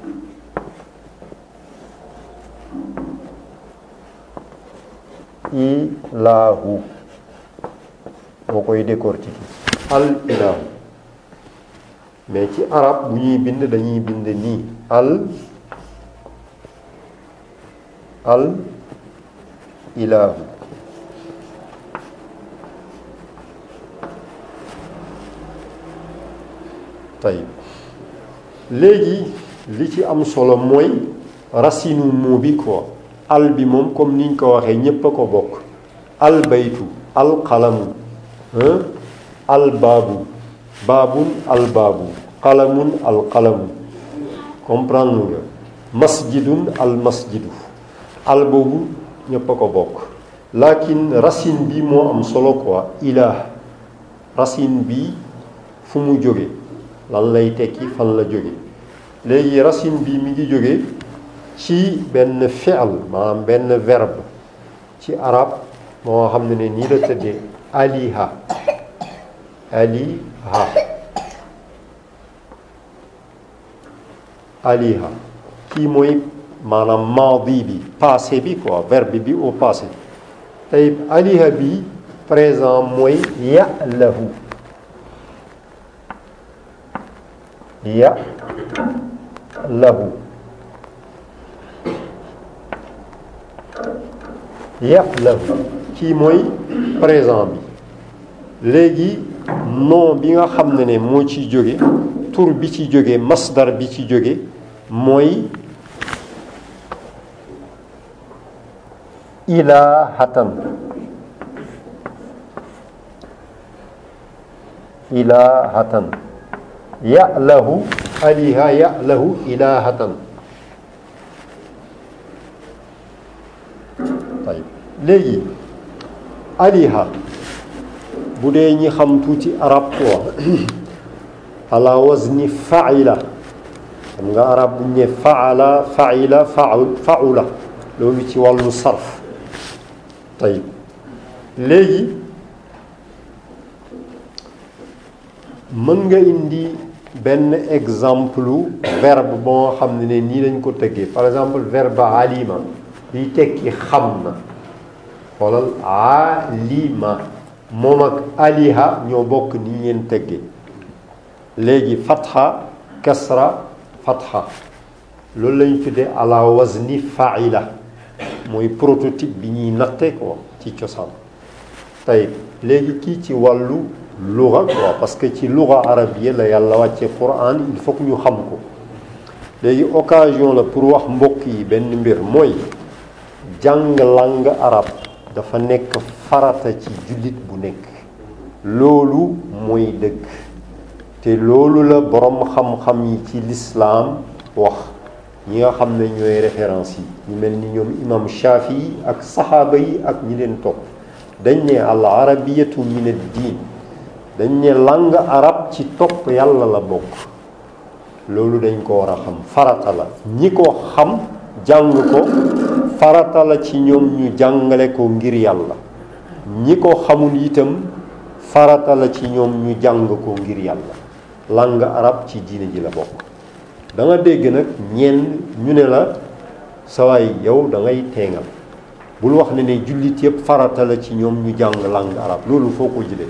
ilahu boo koy décortiquer al ilahu mais ci arab bu ñuy bind dañuy bind nii al ilahu. tey léegi li ci am solo mooy racinu mot bi quoi al bi moom comme niñ ko waxee ñépp a ko bokk al baytu al qalamu al baabu baabun al baabu qalamun al qalamu comprendre nga masjidun al masjidu al boobu ñépp a ko bokk lakin racine bi moo am solo quoi ilah racine bi fu mu jóge lan lay tekki fan la jóge léegi racine bi mi ngi jóge ci benn fi'l maanaam benn verbe ci arab moo xam ne nii la tëddee aliha aliha kii mooy maanaam maadi bi passé bi quoi verbe bi au passé tey aliha bi présent mooy ya'lahu ya'lahu kii mooy présent bi léegi nom bi nga xam ne moo ci jóge tur bi ci jóge masdar bi ci jóge mooy ilahatan ya'lahu aliha ya'lahu ilahatan. léegi aliha bu dee ñi xam tuuti arab quoi ala wazni fa'ila xam nga arab bu ñu ne fa'ala fa'ila fa'ula loolu ci wàllu sarf. tey léegi mën nga indi benn exemple verbe boo xam ne nii lañ ko tëggee par exemple verbe alima liy tekki xam na xoolal alima moom ak aliha ñoo bokk ni ngeen tëggee léegi fatha kasra fatha loolu lañu tuddee ala wazni fa'ila mooy prototype bi ñuy natte ko ci cosaan. tey léegi kii ci wàllu luga quoi parce que ci luga arabie la yàlla wàcce Qur'an il faut que ñu xam ko léegi occasion la pour wax mbokk yi benn mbir mooy jàng langue arabe dafa nekk farata ci jullit bu nekk loolu mooy dëgg te loolu la borom xam-xam yi ci lislaam wax ñi nga xam ne ñooy référence yi ñu mel ni ñoom imam Shafi ak saxaaba yi ak ñi leen topp dañ ne al arabiyatu min ad-diin dañ ne langue arabe ci topp yàlla la bokk loolu dañ ko war a xam farata la ñi ko xam jàng ko farata la ci ñoom ñu jàngale ko ngir yàlla ñi ko xamul itam farata la ci ñoom ñu jàng ko ngir yàlla langue arabe ci diine ji la bokk. da nga dégg nag ñenn ñu ne la sawaay yow da ngay teengal bul wax ne jullit yëpp farata la ci ñoom ñu jàng langue arabe loolu foo ko jëlee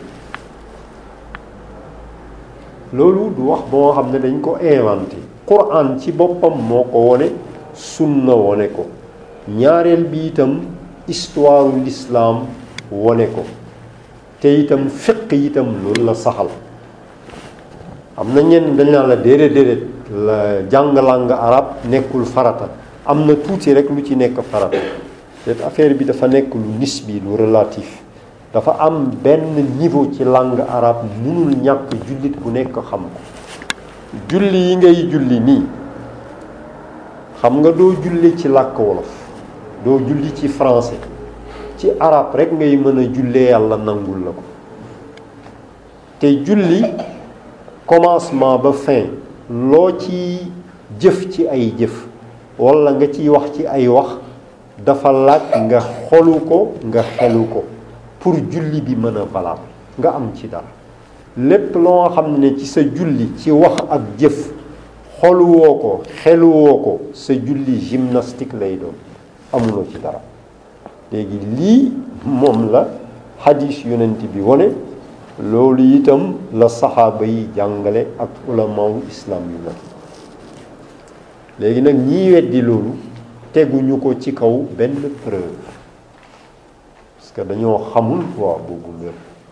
loolu du wax boo xam ne dañ ko inventé Quran ci boppam moo ko wone sunna wone ko ñaareel bi itam histoire l'islam wone ko te itam fiq itam loolu la saxal am na ñenn dañ naan la déedéet la jàng langue arabe nekkul farata am na tuuti rek lu ci nekk farata te affaire bi dafa nekk lu nisbi lu relatif dafa am benn niveau ci langue arabe mënul ñàkk jullit bu nekk xam ko julli yi ngay julli nii xam nga doo julli ci làkk wolof doo julli ci français ci arabe rek ngay mën a jullee yàlla nangul la ko te julli commencement ba fin loo ci jëf ci ay jëf walla nga ciy wax ci ay wax dafa laaj nga xolu ko nga xelu ko pour julli bi mën a valable nga am ci dara lépp loo xam ne ci sa julli ci wax ak jëf xoluwoo ko xeluwoo ko sa julli gymnastique lay doon amuloo ci dara léegi lii moom la hadis yonent bi wone loolu itam la saxaaba yi jàngale ak ulamaawu islam yu nag léegi nag ñiy weddi loolu teguñu ko ci kaw benn preuve parce que dañoo xamul waa boobu mbir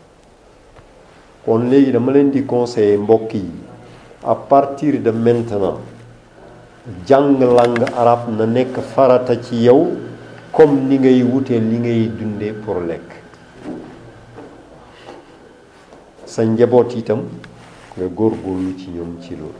kon léegi dama leen di conseiller mbokk yi à partir de maintenant jàng langue arabe na nekk farata ci yow comme ni ngay wutee li ngay dundee pour lekk sa njaboot itam nga góorgóorlu ci ñoom ci loolu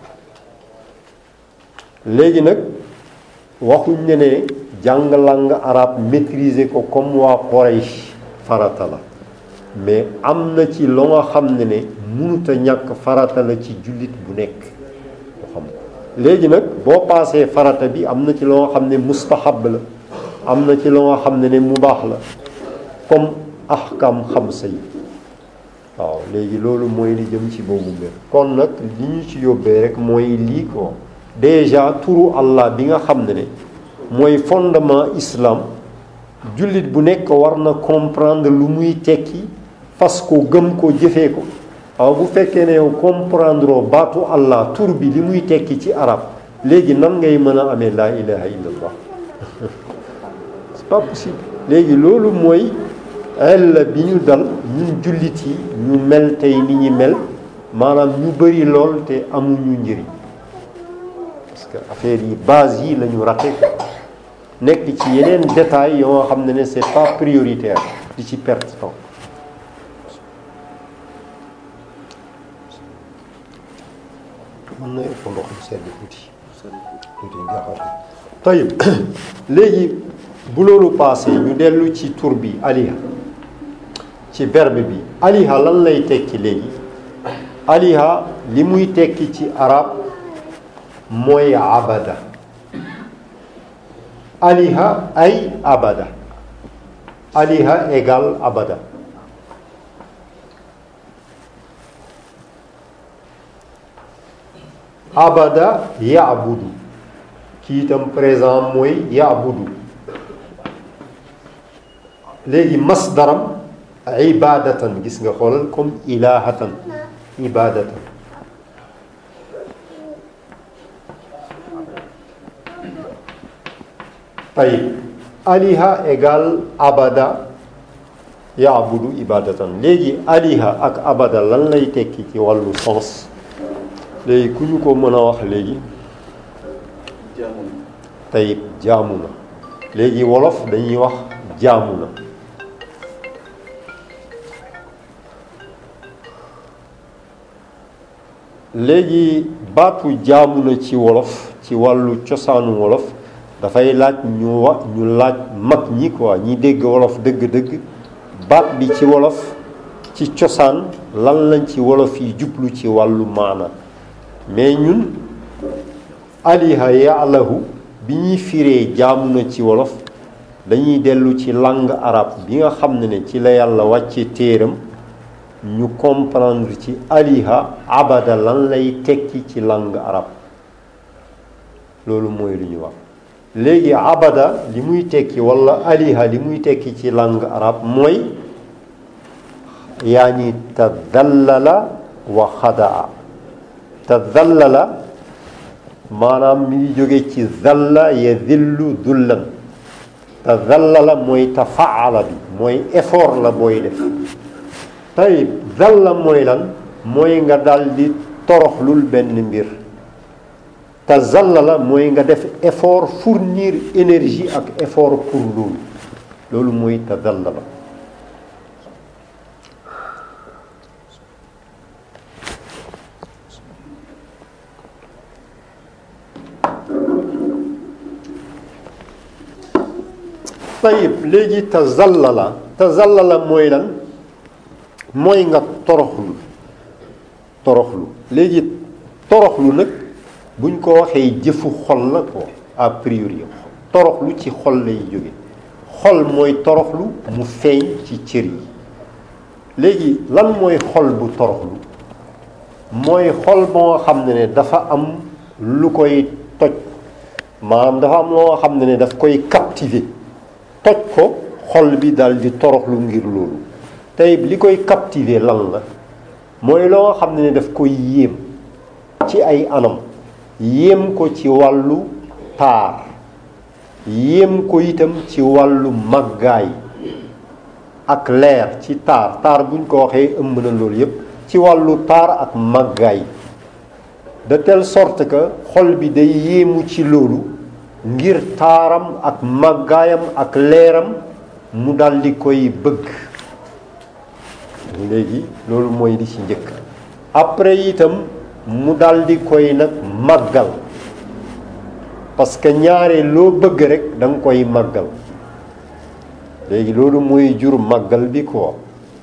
léegi nag waxuñ ne jàng langue arabe maîtriser ko comme waa Quraysh farata la mais am na ci loo nga xam ne mënut a ñàkk farata la ci jullit bu nekk ko xam ko léegi nag boo paasee farata bi am na ci loo nga xam ne mustahab la am na ci loo nga xam ne mubaax la comme ahkam xamsa yi waaw léegi loolu mooy li jëm ci boobu mbir kon nag li ñu ci yóbbee rek mooy lii ko déjà turu Allah bi nga xam ne mooy fondement islam jullit bu nekk war na comprendre lu muy tekki fas ko gëm ko jëfee ko waaw bu fekkee ne yow comprendre baatu Allah tur bi li muy tekki ci arab léegi nan ngay mën a amee laa ilaha illallah c'est pas possible léegi loolu mooy ella bi ñu dal ñun jullit yi ñu mel tey ni ñi mel maanaam ñu bëri lool te amuñu njëriñ parce que affaire yi base yi la ñu raté ko nekk ci yeneen détails yoo nga xam ne c'est pas prioritaire di ci perte temps mën na ëpp ndox mu sedd tuuti nga tayib léegi bu loolu passé ñu dellu ci tur bi aliha ci verbe bi aliha lan lay tekki léegi aliha li muy tekki ci arab mooy abada aliha ay abada aliha égale abada abada yaabudu kii itam présent mooy yaabudu léegi masdaram ibadatan gis nga xoolal comme ilahatan ibadatan tayib aliha égale abada yaabudu ibadatan léegi aliha ak abada lan lay tekki ci wàllu sens léegi ku ñu ko mën a wax léegi tayib jaamu na léegi wolof dañuy wax jaamu na léegi baatu jaamu na ci wolof ci wàllu cosaanu wolof dafay laaj ñu laaj mag ñi quoi ñi dégg wolof dëgg-dëgg baat bi ci wolof ci cosaan lan lañ ci wolof yi jublu ci wàllu maana mais ñun aliha ya'lahu bi ñuy firee jaamu na ci wolof dañuy dellu ci langue arabe bi nga xam ne ci la yàlla wàcce téeram ñu comprendre ci aliha abada lan lay tekki ci langue arabe loolu mooy lu ñu wax. léegi abada li muy tekki wala aliha li muy tekki ci langue arabe mooy yaani tadallala wa xadaa. tadallala maanaam mi ngi jóge ci zalla yadillu dullan. tadallala mooy tafaala bi mooy effort la booy def. tayib zalla mooy lan mooy nga daldi toroxlul benn mbir. tazallala mooy nga def effort fournir énergie ak effort pour loolu mooy tazallala. tayib léegi tazallala mooy lan mooy nga toroxlu léegi toroxlu nag buñ ko waxee jëfu xol la ko a priori toroxlu ci xol lay jóge xol mooy toroxlu mu feeñ ci cër yi. léegi lan mooy xol bu toroxlu mooy xol boo xam ne dafa am lu koy toj maanaam dafa am loo xam ne daf koy captiver toj ko xol bi dal di toroxlu ngir loolu. tey li koy captiver lan la mooy loo xam ne daf koy yéem ci ay anam. yéem ko ci wàllu taar yéem ko itam ci wàllu màggaay ak leer ci taar buñ ko waxee ëmb na loolu yépp ci wàllu taar ak màggaay de telle sorte que xol bi day yéemu ci loolu ngir taaram ak màggaayam ak leeram mu daldi koy bëgg. léegi loolu mooy li ci njëkk. après itam mu daldi koy nag màggal parce que ñaare loo bëgg rek da nga koy màggal. léegi loolu mooy jur màggal bi ko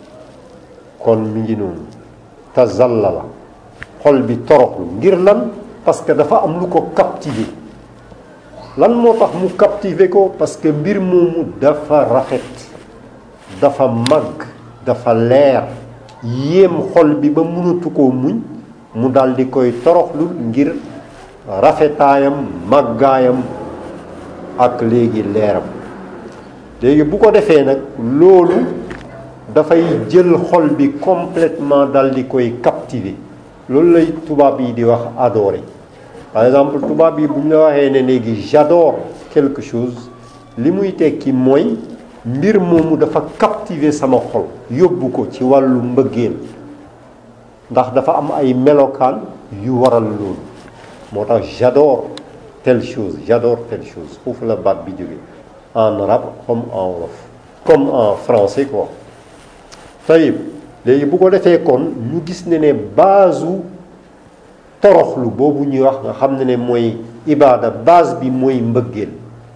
kon mi ngi noonu tazallala xol bi toroxlu ngir lan parce que dafa am lu ko captiver. lan moo tax mu captiver ko parce que mbir moomu dafa rafet dafa màgg dafa leer yéem xol bi ba mënatu koo muñ mu daldi koy toroxlu ngir rafetaayam màggaayam ak léegi leeram. léegi bu ko defee nag loolu dafay jël xol bi complètement daldi koy captiver. loolu lay tubaab yi di wax adorer. par exemple tubaab yi bu ñu la waxee ne léegi j'adore quelque chose li muy tekki mooy mbir moomu dafa captiver sama xol yóbbu ko ci wàllu mbëggeel ndax dafa am ay melokaan yu waral loolu moo tax j'adore telle chose foofu la baat bi jóge en arabe comme en wolof comme en français quoi. tayib léegi bu ko defee kon ñu gis ne base toroxlu boobu ñuy wax nga xam ne mooy ibaada base bi mooy mbëggeel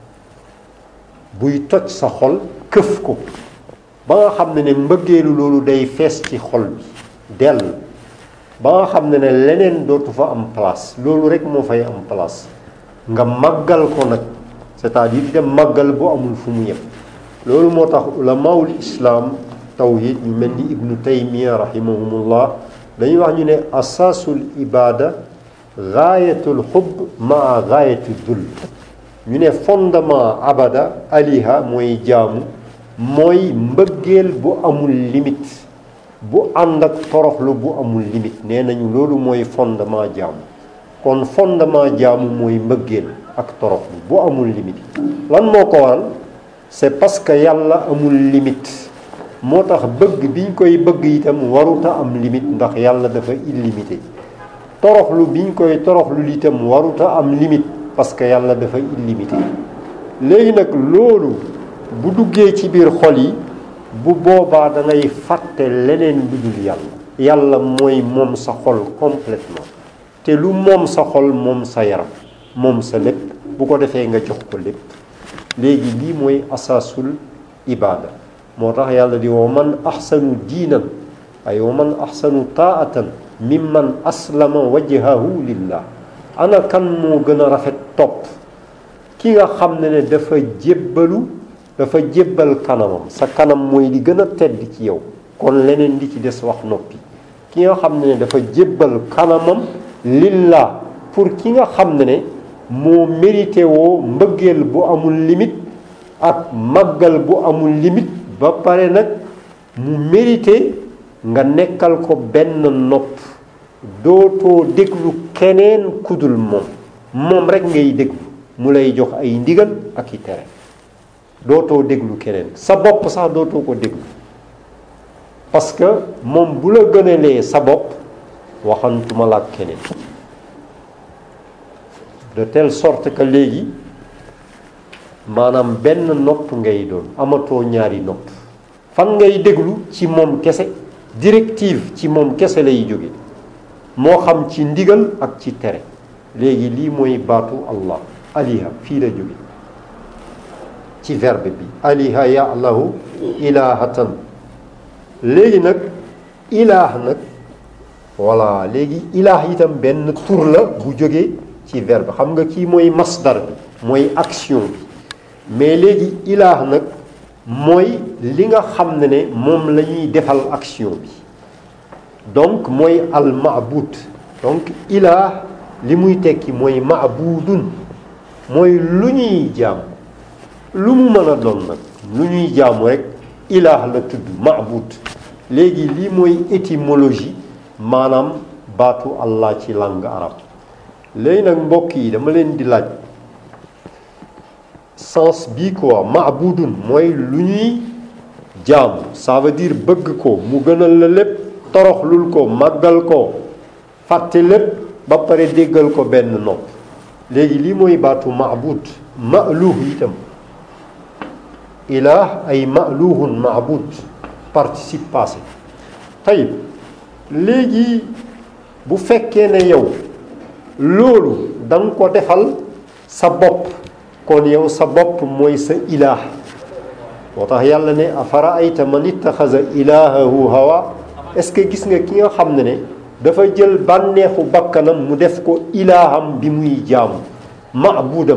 buy toj sa xol këf ko ba nga xam ne mbëggeelu loolu day fees ci xol bi dell ba nga xam ne leneen dootu fa am place loolu rek moo fay am place nga màggal ko nag c'est-à-dire dem màggal bu amul fu mu yem. loolu moo tax ulamaul islam tawhid ñu mel ni ibnu taymiya rahimahumullah dañuy wax ñu ne asaasul ibada gaayatul xubb maa gaayatul dul ñu ne fondement abada aliha mooy jaamu mooy mbëggeel bu amul limite bu ànd ak toroxlu bu amul limite nee nañu loolu mooy fondement jaamu. kon fondement jaamu mooy mbëggeel ak toroxlu bu amul limite. lan moo ko waral c'est parce que yàlla amul limite moo tax bëgg biñ koy bëgg itam waruta am limite ndax yàlla dafa illimité. toroxlu biñ koy toroxlu itam waruta am limite parce que yàlla dafa illimité. léegi nag loolu bu duggee ci biir xol yi bu boobaa da ngay fàtte leneen lu dul yàlla. yàlla mooy moom sa xol complètement te lu moom sa xol moom sa yaram moom sa lépp bu ko defee nga jox ko lépp. léegi lii mooy asaasul ibaada moo tax yàlla di wa man ahsanu diinan ay wa man ahsanu taatan mimman aslama wajhahu lillah. ana kan moo gën a rafet topp ki nga xam ne dafa jébbal kanamam sa kanam mooy li gën a tedd ci yow kon leneen li ci des wax noppi. ki nga xam ne dafa jébbal kanamam lillah pour ki nga xam ne moo mérité woo mbëggeel bu amul limite ak màggal bu amul limite ba pare nag mu mérité nga nekkal ko benn nopp dootoo déglu keneen kudul moom rek ngay déglu mu lay jox ay ndigal ak i tere dootoo déglu keneen sa bopp sax dootoo ko déglu parce que moom bu la gënalee sa bopp waxantuma la ak keneen de telle sorte que léegi maanaam benn nopp ngay doon amatoo ñaari nopp fan ngay déglu ci moom kese directive ci moom kese lay jóge moo xam ci ndigal ak ci tere léegi lii mooy baatu Allah aliha fii la jóge ci verbe bi aliha ya'lahu ilahatan léegi nag ilaah nag voilà léegi ilaah itam benn tur la bu jógee ci verbe xam nga kii mooy masdar bi mooy action bi mais léegi ilaah nag mooy li nga xam ne moom la ñuy defal action bi donc mooy al maabud donc ilaah li muy tekki mooy maabudun mooy lu ñuy jaam lu mu mën a doon nag lu ñuy jaamu rek ilaah la tudd maabud léegi lii mooy étymologie maanaam baatu Allah ci langue arabe léegi nag mbokk yi dama leen di laaj sens bii quoi maabudun mooy lu ñuy jaamu ça veut dire bëgg ko mu gënal la lépp toroxlul ko màggal ko fàtte lépp ba pare déggal ko benn nopp léegi lii mooy baatu maabud maaluh itam ilaah ay maaluhun maabud participe passé tayib léegi bu fekkee ne yow loolu da nga ko defal sa bopp kon yow sa bopp mooy sa ilaah moo tax yàlla ne afara ayta man ittaxaza ilaahahu hawa est-ce que gis nga ki nga xam ne dafa jël bànneexu bakkanam mu def ko ilaaham bi muy jaamu maabudam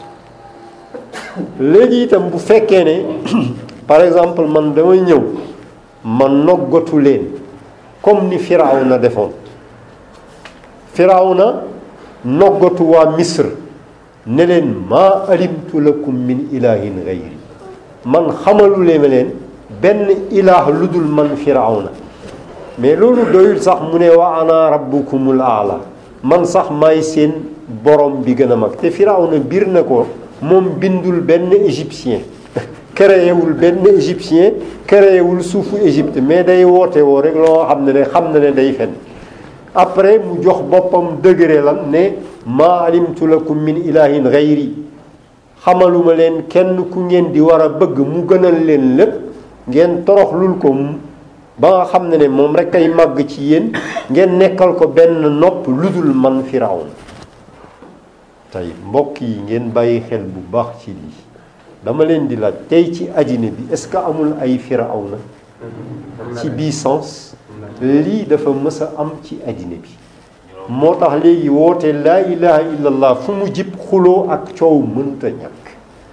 léegi itam bu fekkee ne par exemple man damay ñëw ma noggatu leen comme ni Firawna defoon Firawna noggatu waa Misr ne leen maa alimtu lakum min ilahin gayri man xamalulee ma leen benn ilaah lu dul man Firawna mais loolu doyul sax mu ne wa ana rabbukumul aala man sax maay seen borom bi gën a mag te Firawna biir na ko moom bindul benn égyptien créewul benn égyptien créewul suufu Égypte mais day woote woo rek loo xam ne day fen après mu jox boppam degré lan ne maa alimtu lakum min ilahin gayri xamaluma leen kenn ku ngeen di war a bëgg mu gënal leen lépp ngeen toroxlul ko ba nga xam ne moom rek ay màgg ci yéen ngeen nekkal ko benn nopp lu dul man Firawna tey mbokk yi ngeen bàyyi xel bu baax ci lii dama leen di laaj tey ci àddina bi est-ce que amul ay Firawna ci bii sens lii dafa mës a am ci àddina bi moo tax léegi woote laa ilaha illallah fu mu jib xuloo ak coow mënta ñàkk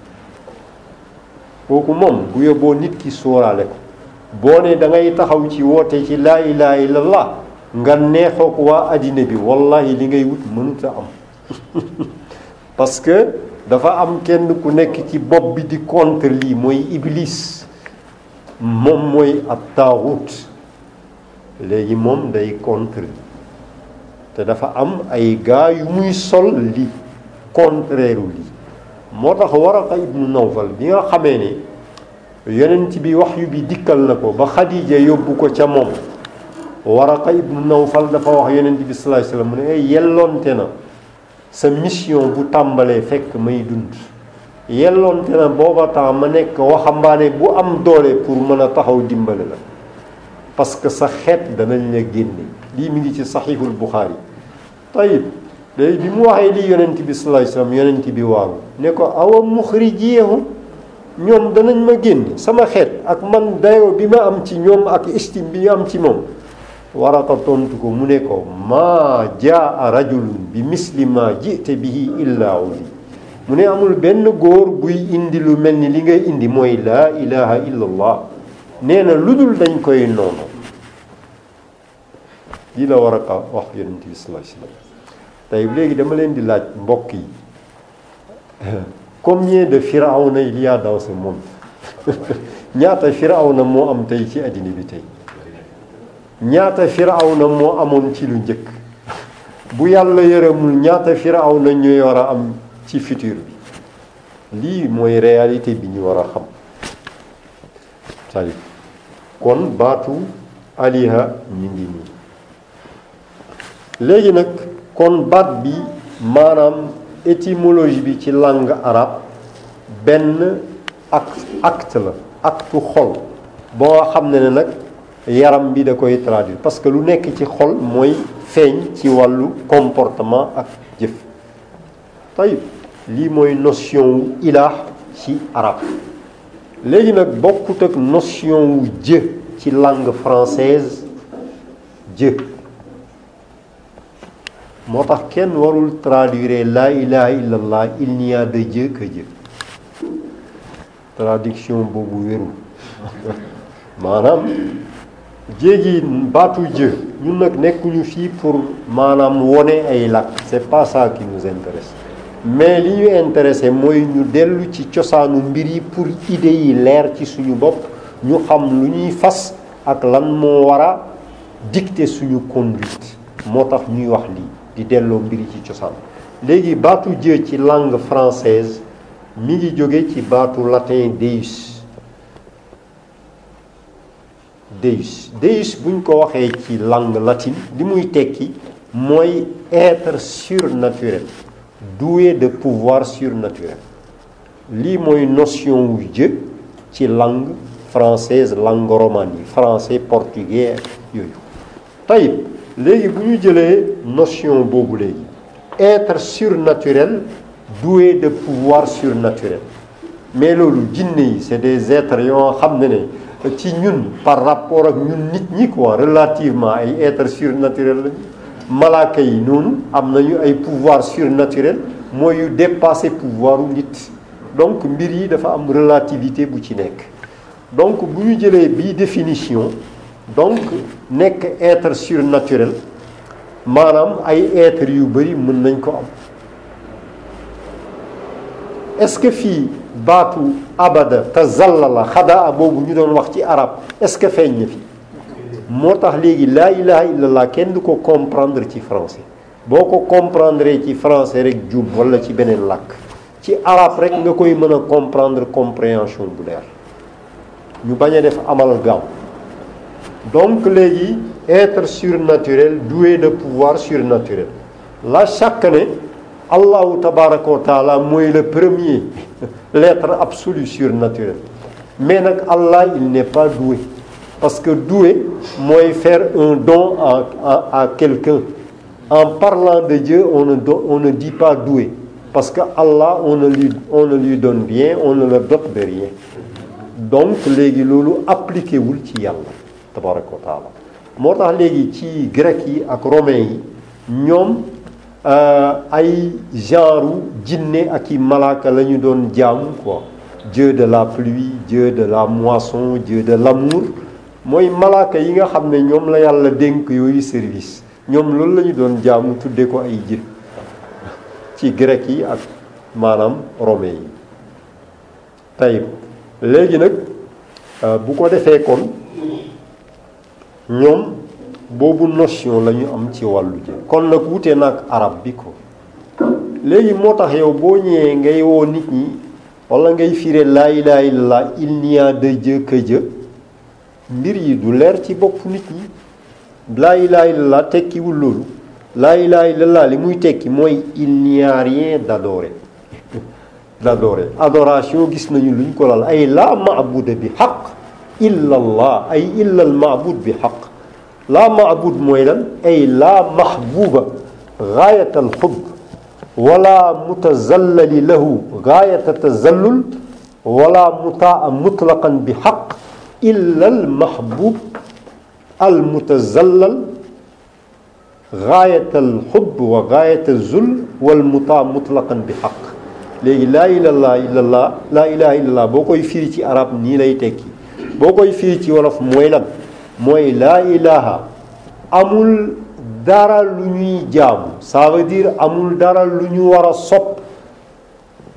kooku moom bu yóbboo nit ki sóoraale ko boo ne da ngay taxaw ci woote ci laa ilaha illallah nga neexook waa àddina bi wallahi li ngay wut mënuta am parce que dafa am kenn ku nekk ci bopp bi di contre lii mooy iblis moom mooy ab taaxut léegi moom day contre te dafa am ay gaa yu muy sol li contraire lii moo tax Waraqa ibnu Nawfal bi nga xamee ne yonent bi waxyu bi dikkal na ko ba Xadija yóbbu ko ca moom Waraqa ibnu Nawfal dafa wax yonent bi sallallahu alayhi wasallam mu ne yelloonte na sa mission bu tàmbalee fekk may dund yelloonte na booba temps ma nekk waxambaane bu am doole pour mën a taxaw dimbale la parce que sa xeet danañ la génne lii mi ngi ci saxiixul Buxaari tayib léegi bi mu waxee lii yonent bi sallallahu alayhi wasallam yonent bi waaru ne ko awa muxrijiyahum ñoom danañ ma génne sama xeet ak man dayo bi ma am ci ñoom ak estime bi ñu am ci moom Waraqa tontu ko mu ne ko maa jaa rajulun bi misli ma jite bihi illa udi mu ne amul benn góor buy indi lu mel ni li ngay indi mooy laa ilaha illallah nee na lu dul dañ koy noonu lii la Waraqa wax yonent bi sallallahu alayhi wasallam tey léegi dama leen di laaj mbokk yi combien de Firawna il y a dans ce monde ñaata Firawna moo am tey ci àddina bi tey ñaata Firawna moo amoon ci lu njëkk bu yàlla yërëmul ñaata Firawna ñuy war a am ci futur bi lii mooy réalité bi ñu war a xam tey kon baatu aliha ñu ngi nii léegi nag kon baat bi maanaam étymologie bi ci langue arabe benn acte la acte xol boo xam ne nag yaram bi da koy traduire parce que lu nekk ci xol mooy feeñ ci wàllu comportement ak jëf tayib lii mooy notion wu ilah ci arabe léegi nag bokkut ak notion wu Dieu ci langue française Dieu moo tax kenn warul traduire la ilaha illallah il n'y a de Dieu que Dieu traduction boobu wérul maanaam jéegi baatu Dieu ñun nag nekkuñu fii pour maanaam wone ay làkk c'est pas ça qui nous intéresse mais li ñu intéressé mooy ñu dellu ci cosaanu mbir yi pour idées yi leer ci suñu bopp ñu xam lu ñuy fas ak lan moo war a dicter suñu conduite moo tax ñuy wax lii di delloo mbiri ci cosaan léegi baatu Dieu ci langue française mi ngi jóge ci baatu latin deus deus buñ ko waxee ci langue latine li muy tekki mooy être surnaturel doué de pouvoir surnaturel lii mooy notion wu Dieu ci langue française langue romane yi français portugais yooyu tayib léegi bu ñu jëlee notion boobu léegi être surnaturel doué de pouvoir surnaturel mais loolu jinne yi c'est des êtres yoo xam ne ci ñun par rapport ak ñun nit ñi quoi relativement ay êtres surnaturels lañu malaaka yi noonu am nañu ay pouvoir surnaturel mooy yu dépasser pouvoiru nit donc mbir yi dafa am relativité bu ci nekk donc bu ñu jëlee bii définition donc nekk être surnaturel maanaam ay êtres yu bari mën nañ ko am est-ce que fii baatu abada tazallala xadaa boobu ñu doon wax ci arab est-ce que feeñ na fi moo tax léegi laa ilaha illallah kenn du ko comprendre ci français boo ko comprendre ci français rek jum wala ci beneen làkk ci arab rek nga koy mën a comprendre compréhension bu leer ñu bañ a def amalgame donc léegi être surnaturel doué de pouvoir surnaturel la chaque année Allahu tabaraka wa taala mooy le premier l'être absolu surnaturel mais nag Allah il n'est pas doué parce que doué mooy faire un don à quelqu'un en parlant de Dieu on ne dit pas doué parce que Allah on ne lui donne rien on ne le dote de rien donc léegi loolu appliqué wul ci yàlla tabaraka wa taala moo tax léegi ci grec yi ak romain yi ñoom ay genre jinne ak i malaaka la ñu doon jaamu quoi Dieu de la pluie Dieu de la moisson Dieu de l'amour mooy malaaka yi nga xam ne ñoom la yàlla dénk yooyu service ñoom loolu la ñu doon jaamu tuddee ko ay jë ci grec yi ak maanaam romain yi tey léegi nag bu ko defee kon ñoom boobu notion la ñu am ci wàllu jë kon nag wute nag arab bi ko léegi moo tax yow boo ñëwee ngay woo nit ñi wala ngay firé laa ilaha illallah il n'y a de Dieu que Dieu mbir yi du leer ci bopp nit ñi laa ilaha illallah tekkiwul loolu laa ilaha illallah li muy tekki mooy il n'y a rien d'adoré adoration gis nañu luñ ko lal ay la maabuda bi xaq illa allah ay illa al maabud bi xaq la maabud mooy lan ay la mahbuba gaayat al xub wala mutazallali lahu gaayata tazallul wala mutaa mutlaqan bi xaq illa al mahbub al mutazallal gaayat al xub wa gaayat al zul wal mutaa mutlaqan bi xaq léegi laa ilaha illallah laa ilaha illallah boo koy firi ci arab nii lay tekki boo koy firi ci wolof mooy lan mooy laa ilaha amul dara lu ñuy jaamu ça veut dire amul dara lu ñu war a sopp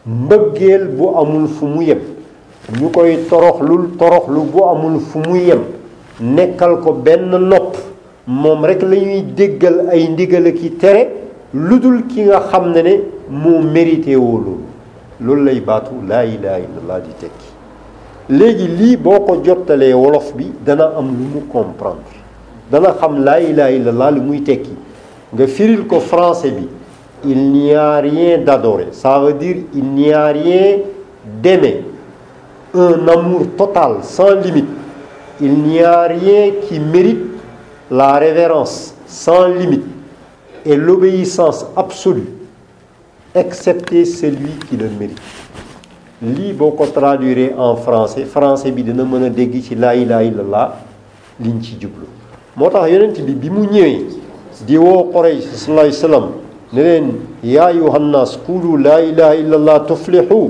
mbëggeel bu amul fu mu yem ñu koy toroxlu bu amul fu mu yem nekkal ko benn nopp moom rek la ñuy déggal ay ndigal ki tere lu dul ki nga xam ne moo mérité woo loolu lay baatu laa ilaha illallah di tekki léegi lii boo ko jottalee wolof bi dana am lu mu comprendre dana xam laa ilaha illallah lu muy tekki nga firil ko français bi il n'y a rien d'adoré ça veut dire il n'y a rien d'aimer un amour total sans limite il n'y a rien qui mérite la révérence sans limite et l'obéissance absolue excepté celui qui le mérite lii boo ko traduire en français bi dina mën a dégg ci laa ilaha illallah liñ ci jublu moo tax yonent bi mu ñëwee di woo Quraysh sallallahu alayhi wa sallam ne leen yaa ayyuhan naas qulu laa ilaha illallah tuflihu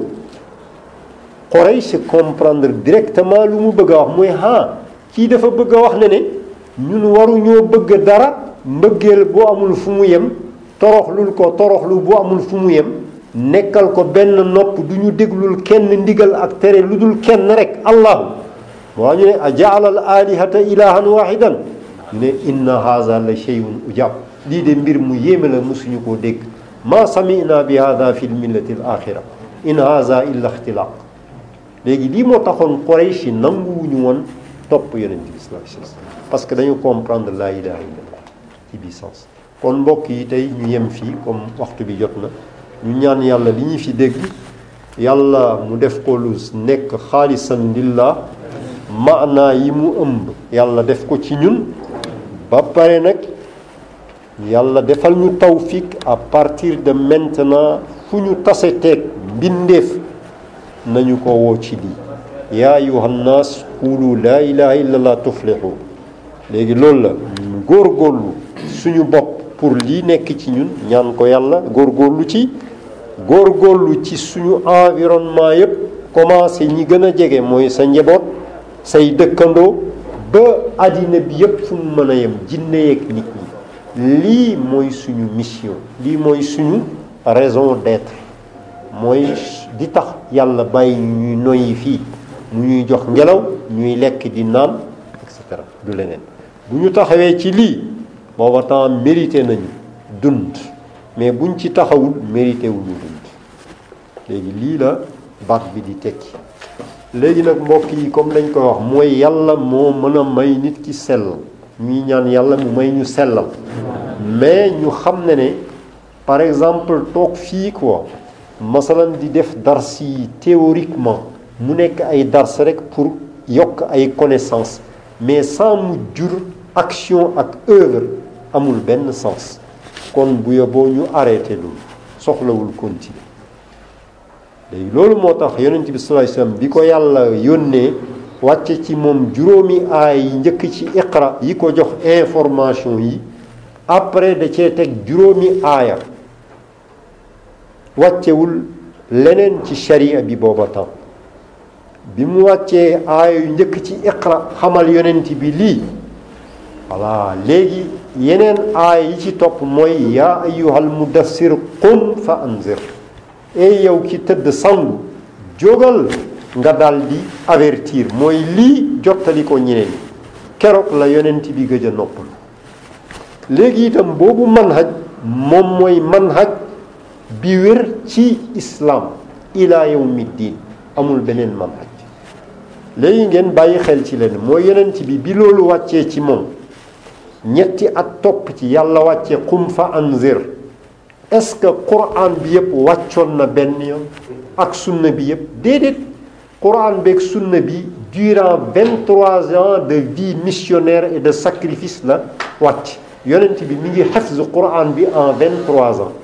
Quraysh comprendre directement lu mu bëgg a wax mooy kii dafa bëgg a wax ne ñun waruñoo bëgg dara mbëggeel bu amul fu mu yem toroxlu bu amul fu mu yem nekkal ko benn nopp du ñu déglul kenn ndigal ak tere lu dul kenn rek allahu moo ñu ne a jaala al alihata ilahan wahidan ñu ne inna haza la shay'un ujab lii de mbir mu yéeme la musuñu koo dégg ma sami'na bi hada fi l millati al axira in haza illa ixtilaq léegi lii moo taxoon Quraysh nanguwuñu woon topp yonent bi sallallahu alayhi wasallam parce que dañu comprendre la ilaha illallah ci bi sens kon mbokk yi tey ñu yem fii comme waxtu bi jot na ñu ñaan yàlla li ñu fi dégg yàlla mu def ko lu nekk xaalisan lillah maanaa yi mu ëmb yàlla def ko ci ñun ba pare nag yàlla defal ñu tawfiq à partir de maintenant fu ñu tase teeg mbindeef nañu ko woo ci lii yaa ayyuhan naas qulu laa ilaha illallah tuflihu léegi loolu la góorgóorlu suñu bopp pour lii nekk ci ñun ñaan ko yàlla góorgóorlu ci suñu environnement yépp commencé ñi gën a jege mooy sa njaboot say dëkkandoo ba àddina bi yépp fu mu mën a yem jinne yeeg nit ñi lii mooy suñu mission lii mooy suñu raison d'être mooy di tax yàlla bàyyi ñuy noyyi fii mu ñuy jox ngelaw ñuy lekk di naan et cetera du leneen bu ñu taxawee ci lii booba temps mérité nañu dund mais buñ ci taxawul mérité wuñu dund léegi lii la baat bi di tekki léegi nag mbokk yi comme dañ koy wax mooy yàlla moo mën a may nit ki sellal ñuy ñaan yàlla mu may ñu sellal mais ñu xam ne par exemple toog fii quoi masalan di def dars yi théoriquement mu nekk ay dars rek pour yokk ay connaissances mais sans mu jur action ak œuvre amul benn sens kon bu yóbboo ñu arrêté loolu soxlawul continuer léegi loolu moo tax yonent bi sallallahu alayhi wasallam bi ko yàlla yónnee wàcce ci moom juróomi aay yi njëkk ci iqra yi ko jox information yi après da cee teg juróomi aaya wàccewul leneen ci sharia bi booba temps bi mu wàccee aaya yu njëkk ci iqra xamal yonent bi lii voilà léegi yeneen aaya yi ci topp mooy yaa ayyuhal mudassir qum fa anzir ey yow ki tëdd sangu jógal nga dal di avertir mooy lii jottali ko ñeneen keroog la yonent bi gëj a noppal léegi itam boobu manhaj moom mooy manhaj bi wér ci islam ila yawmi diin amul beneen manhaj léegi ngeen bàyyi xel ci leen mooy yonent bi loolu wàccee ci moom ñetti at topp ci yàlla wàcce qum fa anzir est-ce que Qur'an bi yëpp wàccoon na benn yoon ak sunna bi yëpp déedéet Qur'an beeg sunna bi durant 23 ans de vie missionnaire et de sacrifice la wàcc yonent bi mi ngi xafz Qur'an bi en 23 ans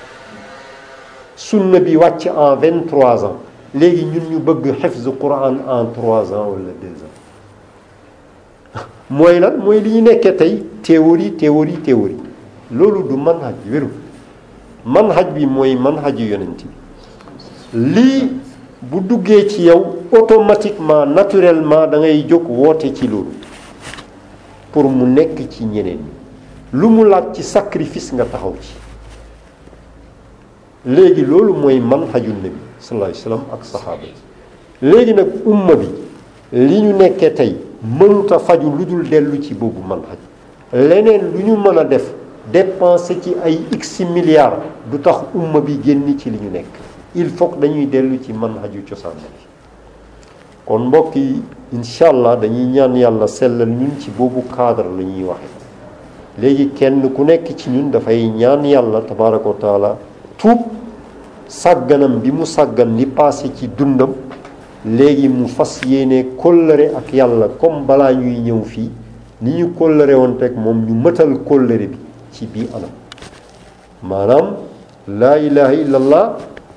sunna bi wàcc en 23 ans léegi ñun ñu bëgg xafz Qur'an en 3 ans wala 2 ans mooy lan mooy li ñu nekkee tey théorie loolu du manhaj wéru manhaj bi mooy manhaju yonent bi lii bu duggee ci yow automatiquement naturellement da ngay jóg woote ci loolu pour mu nekk ci ñeneen ñi lu mu laaj ci sacrifice nga taxaw ci léegi loolu mooy manhaju nabi sallallahu alayhi wasallam ak saxaaba yi. léegi nag umma bi li ñu nekkee tey mënuta faju lu dul dellu ci boobu manhaj. leneen lu ñu mën a def dépenser ci ay x milliards du tax umma bi génn ci li ñu nekk. il faut que dañuy dellu ci manhaju cosaan bi. kon mbokk yi incha allah dañuy ñaan yàlla sellal ñun ci boobu cadre la ñuy waxe léegi kenn ku nekk ci ñun dafay ñaan yàlla tabaraka wa taala tuub sàgganam bi mu sàggan li passé ci dundam léegi mu fas yéene kóllëre ak yàlla comme balaa ñuy ñëw fii ni ñu kóllëre woon teg moom ñu mëtal kóllëre bi ci bii anam maanaam laa ilaha illallah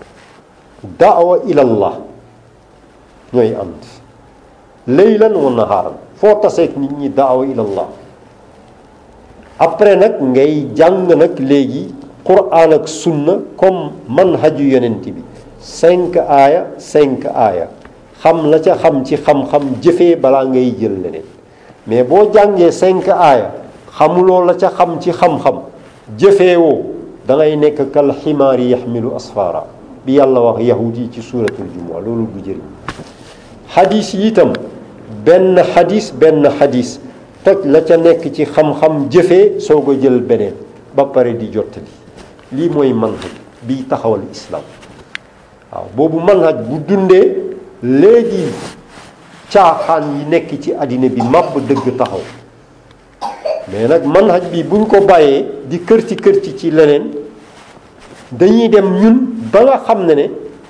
daawa ilallah ñooy ànd laylan wa nahaaran foo taseeg nit ñi daawa ilallah après nag ngay jàng nag léegi quraan ak sunna comme manhaju yonent bi 5 aaya xam la ca xam ci xam-xam jëfee balaa ngay jël leneen mais boo jàngee 5 aaya xamuloo la ca xam ci xam-xam jëfee woo da ngay nekk kal ximaari yaxmilu asfara bi yàlla wax yahud yi ci suuratul jumu'a loolu du jëriñ xadis yi itam benn xadis toj la ca nekk ci xam-xam jëfee soo ko jël beneen ba pare di jottali lii mooy manhaj biy taxawal islam waaw boobu manhaj bu dundee léegi caaxaan yi nekk ci àddina bi màbb dëgg taxaw mais nag manhaj bi buñ ko bàyyee di kërci ci leneen dañuy dem ñun ba nga xam ne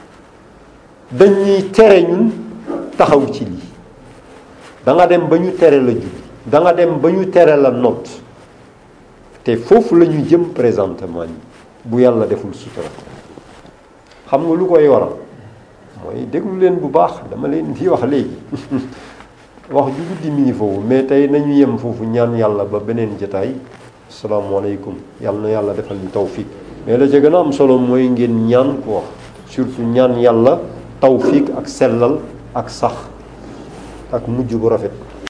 dañuy tere ñun taxaw ci lii da nga dem ba ñu tere la julli da nga dem ba ñu tere la noot te foofu la ñu jëm présentement nii bu yàlla deful sutura xam nga lu koy waral mooy déglu leen bu baax dama leen di wax léegi wax ju guddi mi ngi foofu mais tey nañu yem foofu ñaan yàlla ba beneen jotaay asalaamaaleykum yàlla na yàlla defal ñu tawfiq mais la ca gën a am solo mooy ngeen ñaan ko wax surtout ñaan yàlla tawfiq ak sellal ak sax ak mujj bu rafet